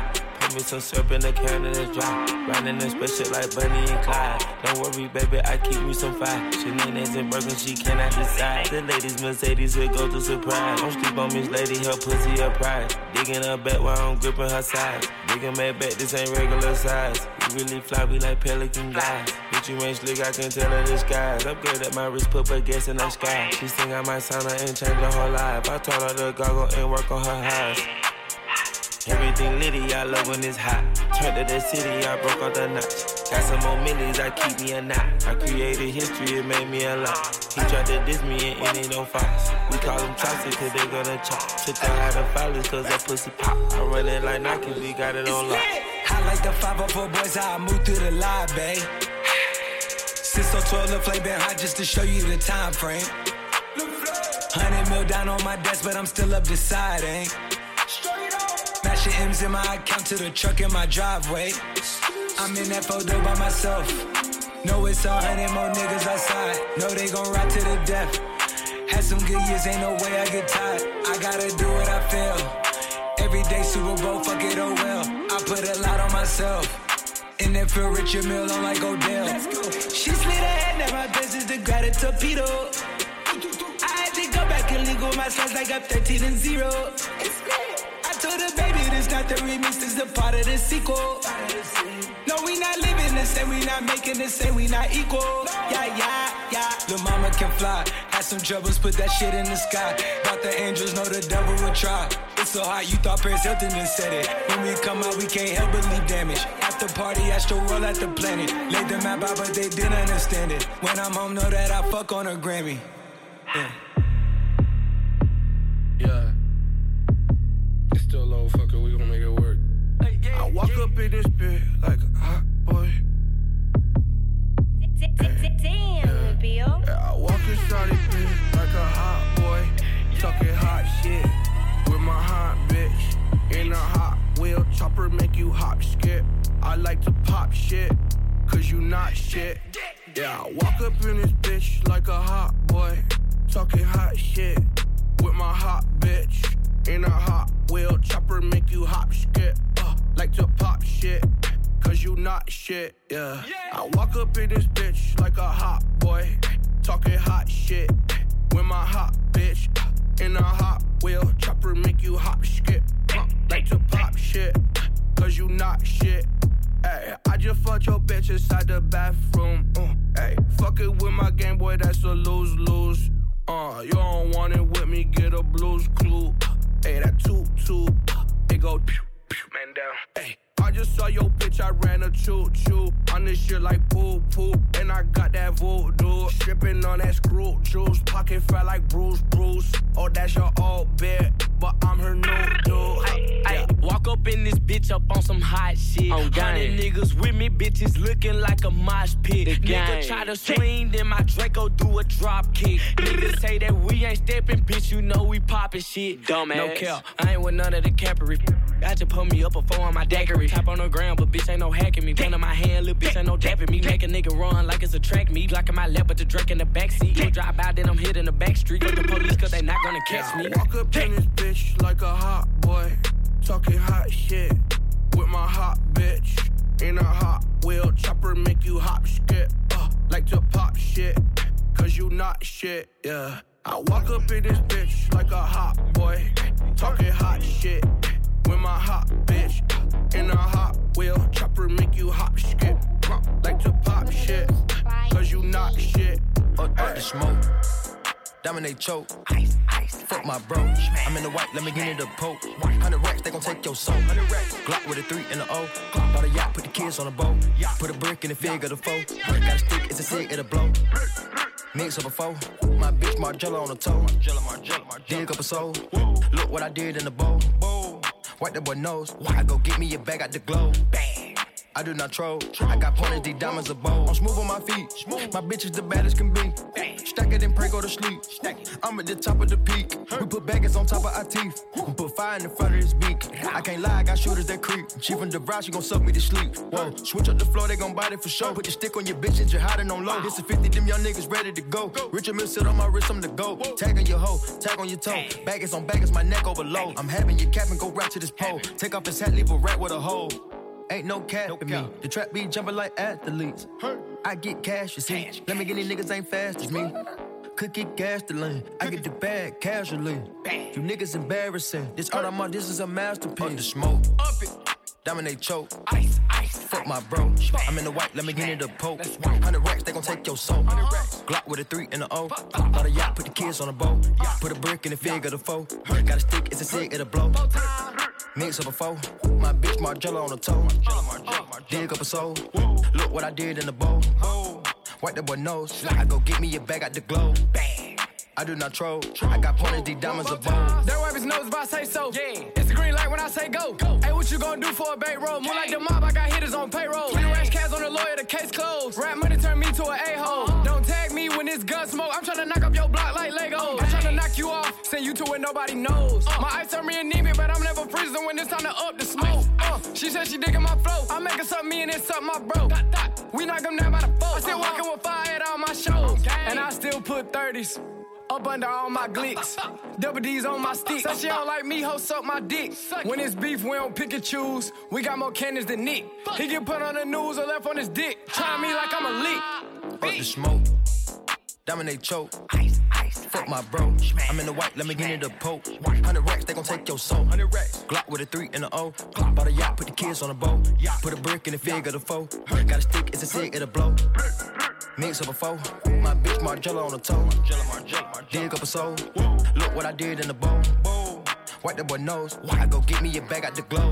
S24: Give me some syrup in the can and it's dry. Riding in special like Bunny and Clyde. Don't worry, baby, I keep me some fire. Shenanigans and Birkin, she cannot decide. The ladies Mercedes will go to surprise. Don't sleep on Miss Lady, her pussy her pride. Digging her back while I'm gripping her sides. Digging my back, this ain't regular size. We really fly, we like pelican guys. Bitch, you ain't slick, I can tell her disguise. Upgrade at my wrist, put her gas in the sky. She think I might sign her and change her whole life. I told her to goggle and work on her eyes. Everything litty, I love when it's hot. Turned to the city, I broke all the knots. Got some more millies, I keep me a knot. I created history, it made me a lot. He tried to diss me and it ain't no fox. We call them chopsticks cause they gonna chop. Took her out of filers cause that pussy pop. I run it like Nike, we got it on lock.
S11: I like the five oh four boys, how I move through the live, babe. Since so twelve, the flame been hot just to show you the time frame. Hundred mil down on my desk, but I'm still up deciding. Mashing M's in my account to the truck in my driveway. I'm in that photo by myself. Know it's a hundred more niggas outside. Know they gon' ride to the death. Had some good years, ain't no way I get tired. I gotta do what I feel. Every day Super Bowl, fuck it, oh well. I put a lot on myself. In that feel Richard Mill on like Odell. She slid ahead, now my best is to grab a torpedo. I had to go back and legal my slides like I'm thirteen and zero. I told her, baby, this not the remix, this is a part of the sequel. No, we not living the same, we not making the same, we not equal. Yeah, yeah, yeah. Lil' mama can fly. Had some troubles, put that shit in the sky. Thought the angels know the devil would try. It's so hot, you thought Paris Hilton done said it. When we come out, we can't help but leave damage. After party, astro world at the planet. Laid the map out, but they didn't understand it. When I'm home, know that I fuck on a Grammy. Yeah.
S20: Yeah. It's still low, fucker, we gon' make it work. I walk up in this bit like a hot boy.
S14: Damn, Bill.
S20: I walk inside this bit like a hot boy. Talking hot shit with my hot bitch. In a hot wheel, chopper make you hop skip. I like to pop shit, cause you not shit. Yeah, I walk up in this bitch like a hot boy. Talking hot shit with my hot bitch. In a hot wheel, chopper make you hop skip. Uh, like to pop shit, cause you not shit, yeah. I walk up in this bitch like a hot boy. Talking hot shit with my hot bitch. In a hot wheel, chopper make you hop skip. Uh, like to pop shit, cause you not shit. Ay, I just fucked your bitch inside the bathroom. Uh, ay, fuck it with my Game Boy, that's a lose-lose. Uh, you don't want it with me, get a blues clue. Hey, that toot-toot, it go pew, pew, man down. Hey, I just saw your bitch, I ran a choo-choo. On this shit like poo-poo, and I got that voodoo. Stripping on that screw juice, pocket fat like Bruce Bruce. Oh, that's your old bit, but I'm her new dude.
S3: Ay, ay, walk up in this bitch up on some hot shit.
S6: On
S3: Hundred niggas with me, bitches looking like a mosh pit. Nigga try to swing, then my Draco do a drop kick. Niggas say that we ain't stepping, bitch, you know we poppin' shit.
S6: Dumbass.
S3: No cap, I ain't with none of the cappery. I just put me up a four on my daiquiri. Tap on the ground, but bitch ain't no hacking me. Gun in my hand, little bitch ain't no dapping me. Make a nigga run like it's a track meet. Blocking my lap, but the Drake in the backseat. No drive out, then I'm hitting the back street. With the police, cause they not gonna catch me.
S20: Walk up in this bitch like a hot boy. Talking hot shit with my hot bitch. In a hot wheel, chopper make you hop skip. Uh, like to pop shit, cause you not shit, yeah. I walk up in this bitch like a hot boy. Talking hot shit with my hot bitch. In a hot wheel, chopper make you hop skip. Uh, like to pop shit, cause you not shit.
S15: Up the smoke, dominate choke. Ice, ice, fuck my bro. I'm in the white, let me get into the poke. Hundred racks, they gon' take your soul. Glock with a three and a O. Bought a yacht, put the kids on a boat. Put a brick in the fig of the foe. Got a stick, it's a cig, it'll blow. Mix up a foe. My bitch Margiela on the toe. Dig up a soul. Look what I did in the bowl. Wipe that boy nose. I go get me a bag out the globe. I do not troll. I got pointers, these diamonds are bold. I'm smooth on my feet. My bitch is the baddest can be. Stack it and pray, go to sleep. I'm at the top of the peak. We put baggers on top of our teeth. We put fire in the front of his beak. I can't lie, I got shooters that creep. She from the brow, she gon' suck me to sleep. Whoa, switch up the floor, they gon' bite it for sure. Put the stick on your bitch and you're hiding on low. This is fifty, them young niggas ready to go. Richard Mill sit on my wrist, I'm the go. Tag on your hoe, tag on your toe. Baggers on baggers, my neck over low. I'm having your cap and go right to this pole. Take off his hat, leave a rat with a hole. Ain't no cat no in me. The trap be jumping like athletes. I get cash, you see. Let me get these niggas ain't fast as me. Could get gas to lean. I get the bag casually. You niggas embarrassing. This art I'm on, this is a masterpiece. Up the smoke. Up it. Dominate choke. Ice, ice. Fuck my bro. I'm in the white, let me get in the poke. Hundred racks, they gon' take your soul. Glock with a three and a O. Bought a yacht, put the kids on the boat. Put a brick in the fig of the foe. Got a stick, it's a cig, it'll blow. Mix up a foe. My bitch Margiela on the toe. Dig up a soul. Look what I did in the bowl. Wipe that boy nose. I go get me a bag out the glow. I do not troll. I got pointers, these diamonds are bold.
S12: They wipe his nose if I say so. Yeah. It's the green light when I say go. go. Hey, what you gonna do for a bait roll? More like the mob, I got hitters on payroll. twenty rash cats on the lawyer, the case closed. Rap money turn me to an a-hole. Uh-huh. Don't tag me when it's gun smoke. I'm tryna knock up your block like Legos. I'm tryna knock you off, send you to where nobody knows. Uh. My ice turn me anemic, but I'm never freezing when it's time to up the smoke. Uh. She said she digging my flow. I make her something me and it's something my bro. Dot, dot. We knock them down by the four. I still uh-huh. walking with fire at all my shows. Okay. And I still put thirties. Up under all my glicks. Double D's on my stick. Said she don't like me, ho, suck my dick. When it's beef, we don't pick and choose. We got more cannons than Nick. He get put on the news or left on his dick. Try me like I'm a lick.
S15: Up the smoke. Dominate choke. Ice, ice, fuck my bro. I'm in the white, let me get in the poke. Hundred racks, they gon' take your soul. Hundred racks. Glock with a three and a O. Bought a yacht, put the kids on the boat. Put a brick in the fig of the foe. Got a stick, it's a cig, it'll blow. Mix up a foe. My bitch Margiela on the toe. Dig up a soul. Look what I did in the bowl. Wipe that boy nose. I go get me a bag out the glow.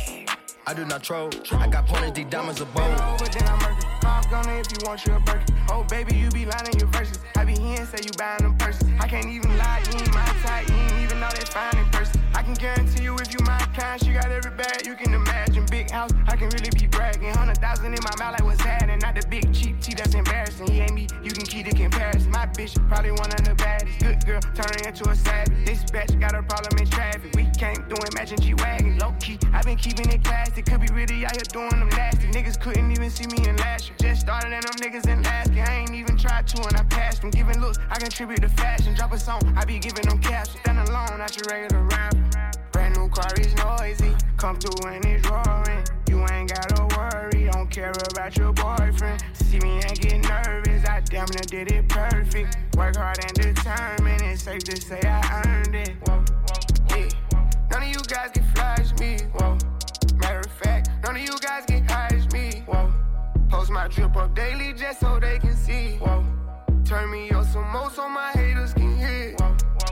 S15: I do not troll. I got pointers, these diamonds are bold.
S4: Over, then I'm murky. Pop gun if you want your burger. Oh, baby, you be lying in your verses. I be here and say you buying them purses. I can't even lie, you ain't my type. You ain't even know that fine in person. I can guarantee you if you my kind, she got every bag you can imagine. Big house, I can really be bragging. Hundred thousand in my mouth like what's happening. Not the big cheap tea that's embarrassing. He ain't me, you can keep the comparison. My bitch probably one of the baddest. Good girl, turning into a savage. This bitch got a problem in traffic. We can't do it, matching G-Wagon. Low key, I been keeping it classy. Could be really out here doing them nasty. Niggas couldn't even see me in last year. Just started and them niggas in last year. I ain't even tried to and I passed them. Giving looks, I contribute to fashion. Drop a song, I be giving them caps. Stand alone, not your regular rapper. Brand new car is noisy. Come through and it's roaring. You ain't gotta worry, don't care about your boyfriend. See me and get nervous, I damn near did it perfect. Work hard and determined, it's safe to say I earned it. Whoa, yeah. None of you guys can flash me. Whoa. Matter of fact, none of you guys get high as me. Whoa. Post my drip up daily just so they can see. Whoa. Turn me up some more so my haters can hear. Whoa.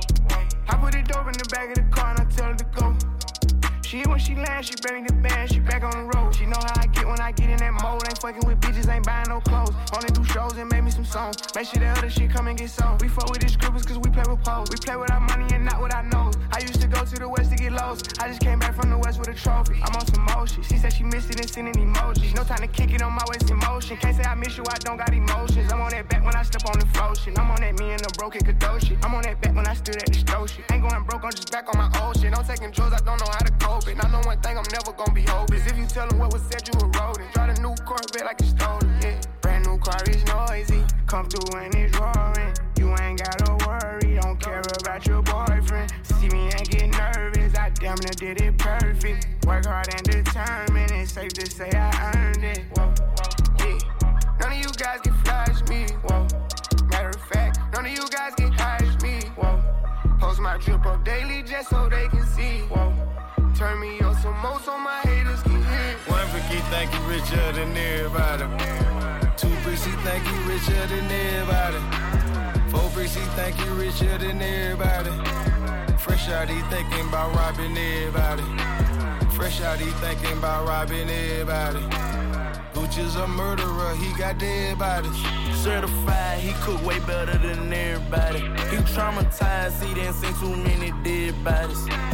S4: I put it dope in the back of the car and I tell her to go. She when she lands, she bring the band, she back on the road. She know how I get when I get in that mode. Ain't fucking with bitches, ain't buying no clothes. Only do shows and make me some songs. Make sure that other shit come and get sold. We fuck with these scribbles cause we play with poles. We play with our money and not with our nose. I used to go to the west to get lost. I just came back from the west with a trophy. I'm on some motion. She said she missed it and sending emojis. No time to kick it on my waist in motion. Can't say I miss you, I don't got emotions. I'm on that back when I step on the flow shit. I'm on that me and the broken Kadoshi. I'm on that back when I stood at the stove shit. Ain't going broke, I'm just back on my old shit. I'm taking drugs, I don't know how to cope it. I know one thing I'm never gonna be hopeless. If you tell them what was said, you eroding. Drive a new Corvette like it's stolen, yeah. Brand new car is noisy. Come through and it's roaring. You ain't gotta worry, don't care about your boyfriend. See me and get nervous, I damn near did it perfect. Work hard and determined, it's safe to say I earned it. Whoa, yeah. None of you guys can flash me. Whoa. Matter of fact, none of you guys get high as me. Whoa. Post my drip up daily just so they can see. Whoa. Turn me up some more so my haters can hear.
S21: One brick, he think he richer than everybody. Two bricks, he think he richer than everybody. Four bricks, he think he richer than everybody. Fresh out, he thinking about robbing everybody. Fresh out, he thinking about robbing everybody. Gucci's a murderer, he got dead bodies.
S24: Certified, he cook way better than everybody. He traumatized, he didn't see too many dead bodies.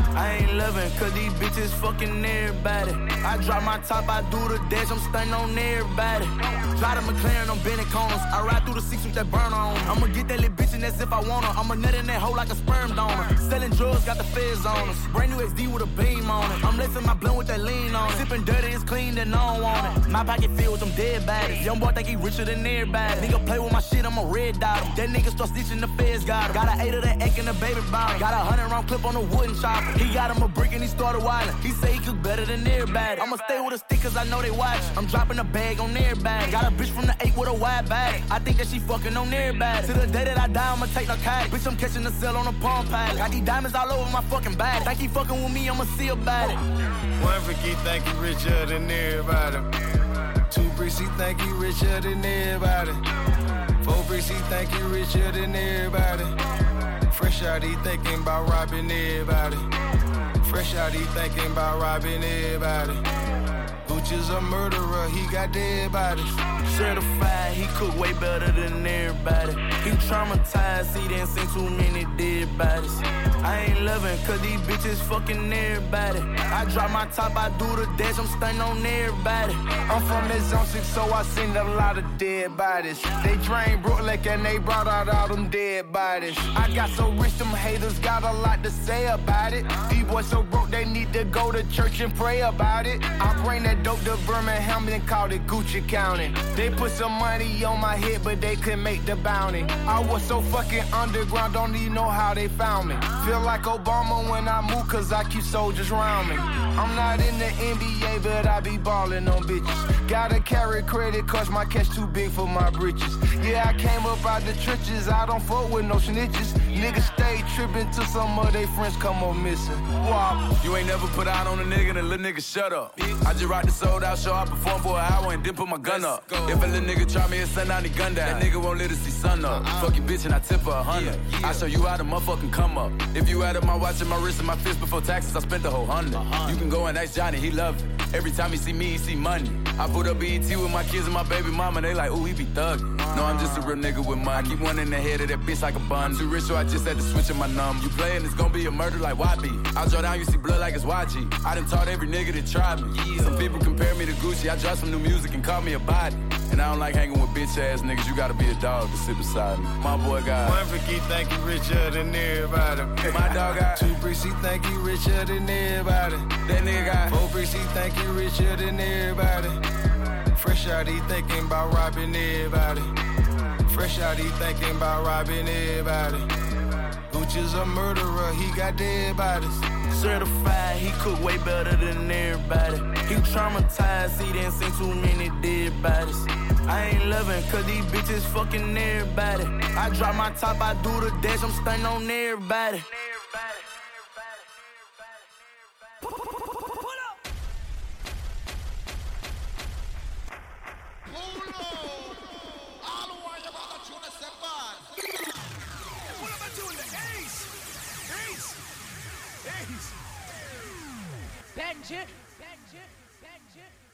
S19: I ain't loving, cause these bitches fucking everybody. I drop my top, I do the dash, I'm stunning on everybody. Drive the McLaren, I'm bending corners. I ride through the six with that burn on. I'ma get that little bitch and that's if I want her. I'ma nut in that hole like a sperm donor. Selling drugs, got the feds on us. Brand new X D with a beam on it. I'm lacing my blunt with that lean on it. Sipping dirty, it's clean, then I don't want it. My pocket filled with them dead bodies. Young boy think he richer than everybody. Nigga play with my shit, I'm a red dot. That nigga start stitching, the feds got him. Got an eight of that egg in the baby bottle. Got a hundred round clip on the wooden chopper. He got him a brick and he started wildin'. He say he cook better than everybody. I'ma stay with a stick cause I know they watch. I'm dropping a bag on everybody. Got a bitch from the eight with a wide bag. I think that she fucking on everybody. To the day that I die, I'ma take narcotic. Bitch, I'm catching the cell on a palm pilot. Got these diamonds all over my fucking bag. Think he fucking with me, I'ma see about it.
S21: One freak, he think he richer than everybody. Two bricks, he think he richer than everybody. Four bricks, he think he richer than everybody. Fresh out, he thinking about robbing everybody. Fresh out, he thinking about robbing everybody. Gucci's a murderer, he got dead bodies.
S19: Certified, he cook way better than everybody. He traumatized, he didn't see too many dead bodies. I ain't loving, cause these bitches fucking everybody. I drop my top, I do the dash, I'm stunning on everybody.
S21: I'm from the zone six, so I seen a lot of dead bodies. They drained Brooklyn and they brought out all them dead bodies. I got so rich, them haters got a lot to say about it. These boys so broke, they need to go to church and pray about it. I bring that dope to Birmingham and called it Gucci County. They put some money on my head, but they couldn't make the bounty. I was so fucking underground, don't even know how they found me. Feel like Obama when I move, cause I keep soldiers around me. I'm not in the N B A, but I be ballin' on bitches. Gotta carry credit, cause my cash too big for my britches. Yeah, I came up out the trenches, I don't fuck with no snitches. Niggas stay trippin' till some of they friends come up missing. Wow.
S17: You ain't never put out on a nigga, then little nigga shut up. I just rock the sold out show, I perform for an hour and then put my gun up. If a little nigga try me and send out the gun down, that nigga won't let us see sun up. Uh-uh. Fuck you bitch and I tip her a hundred. Yeah, yeah. I show you how to motherfucking come up. If you added my watch and my wrist and my fist before taxes, I spent the whole hundred. Uh-huh. You can go and ask Johnny, he love it. Every time he see me, he see money. I put up B E T with my kids and my baby mama, they like, ooh, he be thuggin'. No, I'm just a real nigga with money. I keep one in the head of that bitch like a bun. Too rich, so I just had to switch in my number. You playin', it's gonna be a murder like Y B. I draw down, you see blood like it's Y G. I done taught every nigga that tried me. Yeah. Some people compare me to Gucci. I drop some new music and call me a body. And I don't like hanging with bitch ass niggas. You gotta be a dog to sit beside me. My boy got
S21: one freak, he think he richer than everybody.
S17: My dog got
S21: two bricks, he think he richer than everybody.
S17: That nigga got
S21: four bricks, he think he richer than everybody. Fresh out, he thinking about robbing everybody. Fresh out, he thinking about robbing everybody. Gucci's a murderer, he got dead bodies.
S19: Certified, he cook way better than everybody. He traumatized, he didn't see too many dead bodies. I ain't loving, cause these bitches fucking everybody. I drop my top, I do the dash, I'm stunning on everybody.
S8: Benji, Benji, Benji.